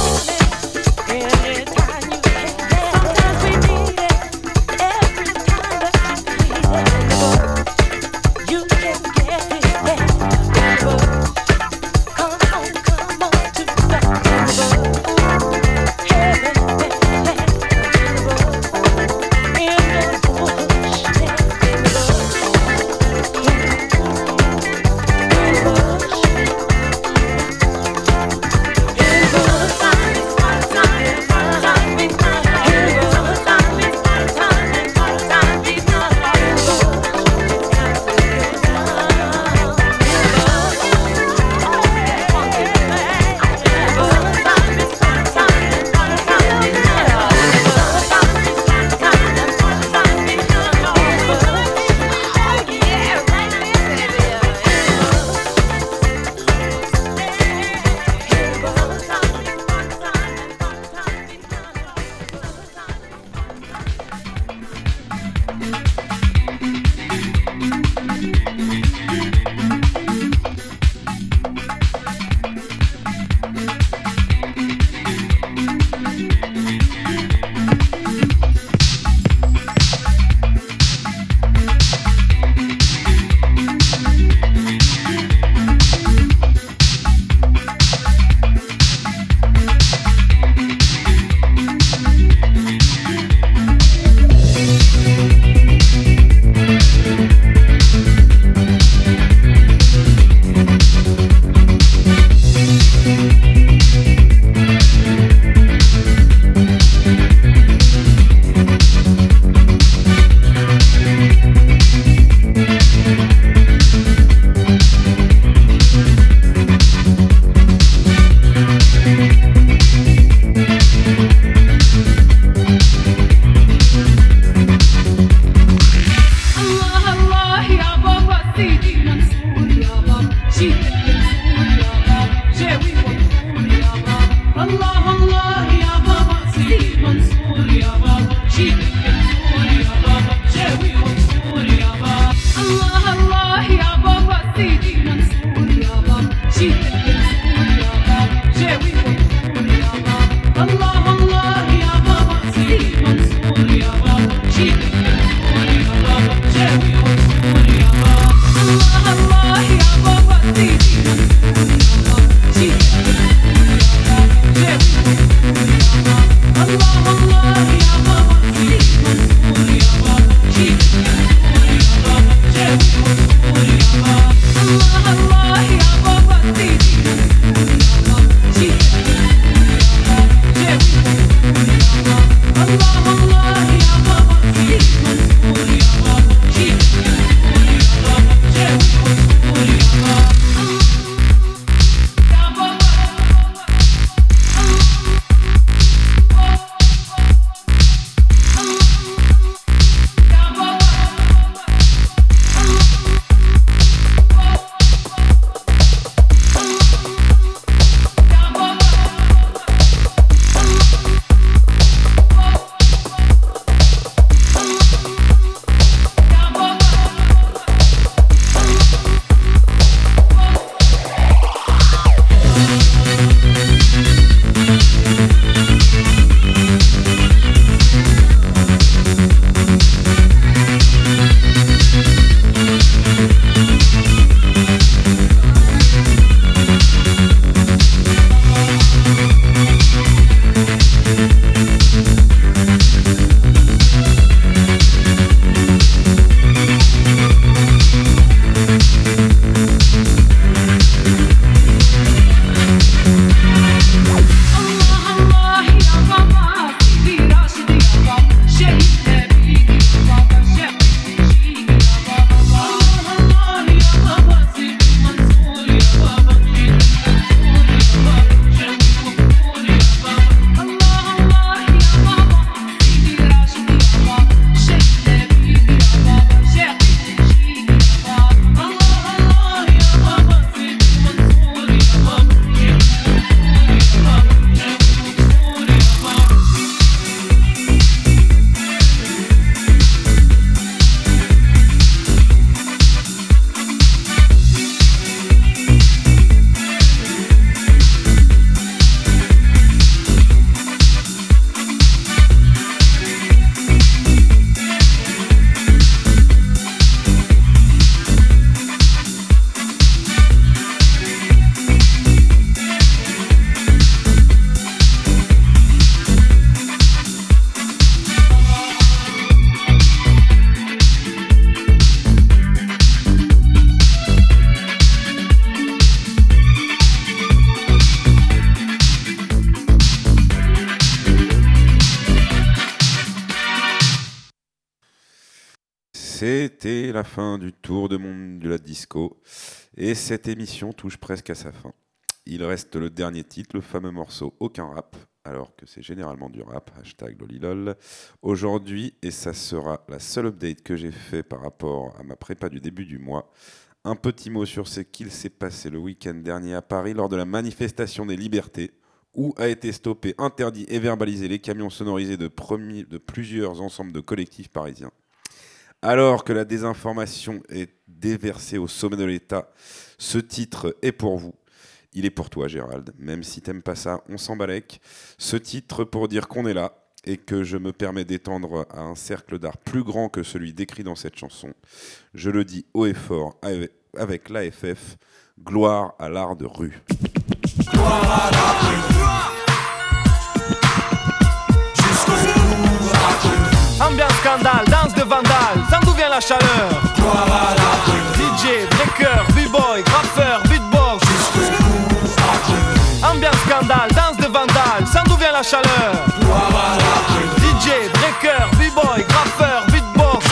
Anytime you can get it. Sometimes we need it. Every time that we need it. C'était la fin du tour de monde de la disco et cette émission touche presque à sa fin. Il reste le dernier titre, le fameux morceau Aucun rap, alors que c'est généralement du rap, #lolilol. Aujourd'hui, et ça sera la seule update que j'ai fait par rapport à ma prépa du début du mois, un petit mot sur ce qu'il s'est passé le week-end dernier à Paris lors de la manifestation des libertés, où a été stoppé, interdit et verbalisé les camions sonorisés de plusieurs ensembles de collectifs parisiens. Alors que la désinformation est déversée au sommet de l'État, ce titre est pour vous. Il est pour toi, Gérald. Même si t'aimes pas ça, on s'en balèque. Ce titre pour dire qu'on est là et que je me permets d'étendre à un cercle d'art plus grand que celui décrit dans cette chanson. Je le dis haut et fort avec l'AFF, gloire à l'art de rue. Gloire à l'art de rue. Ambiance scandale, danse de vandale, sans d'où vient la chaleur. Gloire à l'art de rue. DJ, breaker, b-boy, graffeur, beatbox. Ambiance scandale, danse de vandale, sans d'où vient la chaleur. Gloire à l'art de rue. DJ, breaker, b-boy, graffeur, beatbox.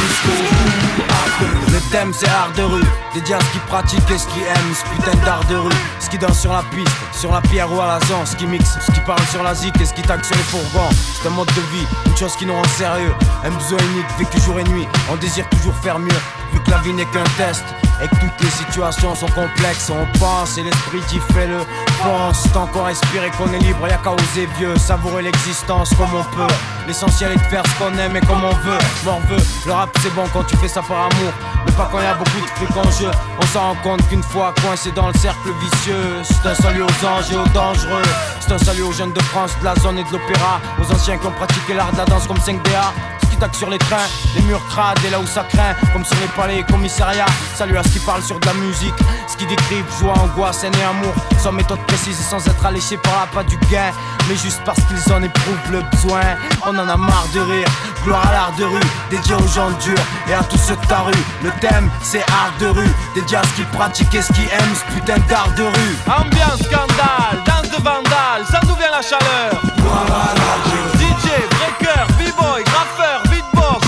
Le thème c'est art de rue, dédié à ce qui pratique et ce qui aime, ce putain d'art de rue. Ce qui danse sur la piste, sur la pierre ou à la zone, ce qui mixe, ce qui parle sur la zik et ce qui tague sur les fourgons. C'est un mode de vie, une chose qui nous rend sérieux, un besoin unique vécu jour et nuit. On désire toujours faire mieux, vu que la vie n'est qu'un test et que toutes les situations sont complexes. On pense et l'esprit qui fait le pense. Tant qu'on respire et qu'on est libre, y'a qu'à oser vieux, savourer l'existence comme on peut. L'essentiel est de faire ce qu'on aime et comme on veut. Morveux, le rap c'est bon quand tu fais ça par amour, mais pas quand y a beaucoup de trucs en jeu. On s'en rend compte qu'une fois coincé dans le cercle vicieux. C'est un salut aux anges et aux dangereux. C'est un salut aux jeunes de France, de la zone et de l'opéra, aux anciens qui ont pratiqué l'art de la danse comme 5DA. Sur les trains, les murs crades et là où ça craint, comme sur les palais et commissariats. Salut à ce qui parle sur de la musique, ce qui décrivent joie, angoisse, haine et amour, sans méthode précise et sans être alléché par la pas du gain, mais juste parce qu'ils en éprouvent le besoin. On en a marre de rire, gloire à l'art de rue, dédié aux gens durs et à tous ceux de ta rue. Le thème c'est art de rue, dédié à ce qui pratique et ce qui aime, ce putain d'art de rue. Ambiance scandale, danse de vandale, sans d'où vient la chaleur. Gloire à l'art de rue. DJ, breaker, b-boy, graffeur, beatbox.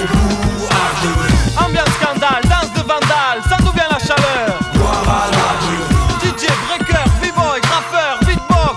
Ambiance scandale, danse de vandale, sans d'où vient la chaleur. Gloire à l'art de rue. DJ, breaker, b-boy, graffeur, beatbox.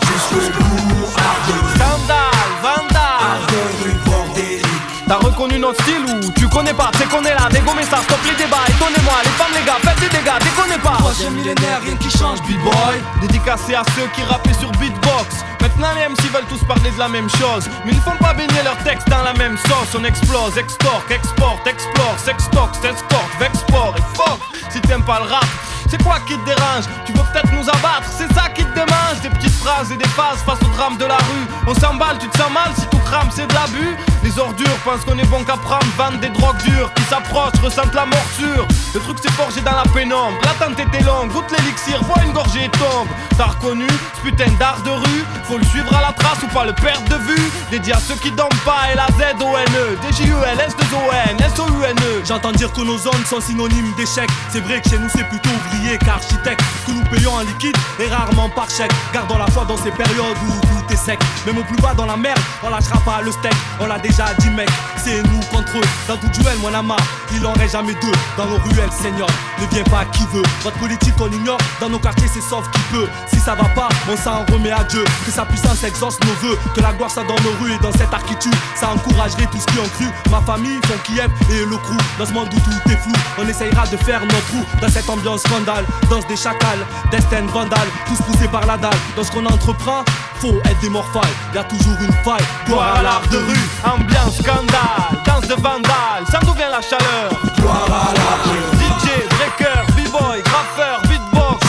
Scandale, vandale, art de rue bordélique. T'as reconnu notre style ou tu connais pas? C'est qu'on est là, dégommez ça, stop les débats, étonnez-moi, les femmes les gars, faites des dégâts, déconnez pas. Troisième millénaire, rien qui change, b-boy. Dédicacé à ceux qui rappaient sur beatbox. Maintenant les MC veulent tous parler de la même chose, mais ils ne font pas baigner leurs textes dans la même sauce. On explose, extorque, exporte, explore, sextoque, s'escorte, vexport et fuck. Si t'aimes pas le rap, c'est quoi qui te dérange? Tu veux peut-être nous abattre, c'est ça qui te démange. Des petites phrases et des phases face au drame de la rue. On s'emballe, tu te sens mal si tout crame, c'est de l'abus. Les ordures pensent qu'on est bon qu'à prendre, vendent des drogues dures. Qui s'approchent, ressentent la morsure. Le truc c'est forgé dans la pénombre. L'attente était longue, goûte l'élixir, bois une gorgée et tombe. T'as reconnu ce putain d'art de rue? Faut le suivre à la trace ou pas le perdre de vue. Dédié à ceux qui dorment pas, L-A-Z-O-N-E D-J-U-L-S-2-O-N S-O-U-N-E. J'entends dire que nos zones sont synonymes d'échec. C'est vrai que chez nous c'est plutôt ouvrier qu'architecte, que nous payons en liquide et rarement par chèque. Gardons la foi dans ces périodes où tout est sec. Même au plus bas dans la merde, on lâchera pas le steak. On l'a déjà dit mec, c'est nous contre eux. Dans tout duel, mon ama, il en reste jamais deux. Dans nos ruelles, seigneur, ne viens pas qui veut. Votre politique on ignore, dans nos quartiers c'est sauf qui peut. Si ça va pas, on s'en remet à Dieu. Que sa puissance exauce nos vœux, que la gloire soit dans nos rues et dans cette architecture. Ça encouragerait tous qui ont cru. Ma famille, son Kiev et le crew. Dans ce monde où tout est flou, on essayera de faire notre trou. Dans cette ambiance scandale, danse des chacals, destin vandale, tous poussés par la dalle. Dans ce qu'on entreprend, faut être des morphales. Y'a toujours une faille, gloire à l'art de rue. Ambiance scandale, danse de vandale, sans d'où vient la chaleur. Gloire à l'art de rue. DJ, breaker, b-boy, graffeur, beatbox.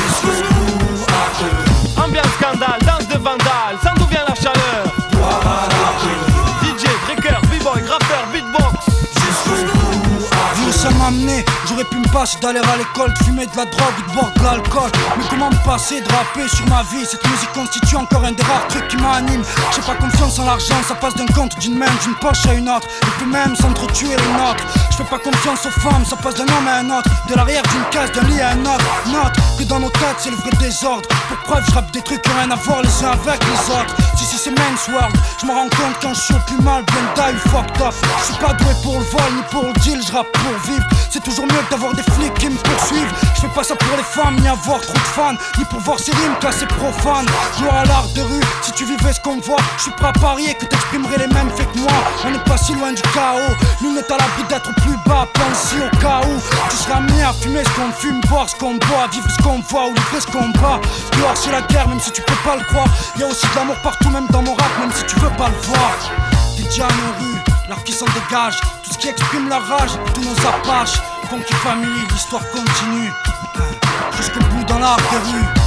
Ambiance scandale, danse de vandale, sans d'où vient la chaleur. Gloire à l'art de rue. DJ, breaker, b-boy, graffeur, beatbox. Vous nous sommes amenés, j'aurais pu me passer d'aller à l'école, de fumer de la drogue ou de boire de l'alcool. Mais comment me passer de rapper sur ma vie? Cette musique constitue encore un des rares trucs qui m'anime. J'ai pas confiance en l'argent, ça passe d'un compte, d'une main, d'une poche à une autre. Et puis même s'entretuer les nôtres. Je fais pas confiance aux femmes, ça passe d'un homme à un autre. De l'arrière d'une case, d'un lit à un autre. Note que dans nos têtes c'est le vrai désordre. Pour preuve je rappe des trucs qui ont rien à voir les uns avec les autres. Si c'est Men's World, je me rends compte quand je suis au plus mal, bien die, fucked up. Je suis pas doué pour le vol ni pour le deal, je rappe pour vivre. C'est toujours mieux d'avoir des flics qui me poursuivent. Je fais pas ça pour les femmes, ni avoir trop de fans, ni pour voir ces rimes classées profanes. Gloire à l'art de rue, si tu vivais ce qu'on voit, je suis prêt à parier que t'exprimerais les mêmes faits que moi. On n'est pas si loin du chaos, nul n'est à l'abri d'être plus bas. Pense au cas où tu seras amené à fumer ce qu'on fume, boire ce qu'on boit, vivre ce qu'on voit ou livrer ce qu'on bat. Dehors c'est la guerre, même si tu peux pas le croire. Y'a aussi de l'amour partout, même dans mon rap, même si tu veux pas le voir. Des diamants rue, l'art qui s'en dégage, tout ce qui exprime la rage, tous nos apaches. Funky Family, l'histoire continue jusqu'au bout dans l'art des rues.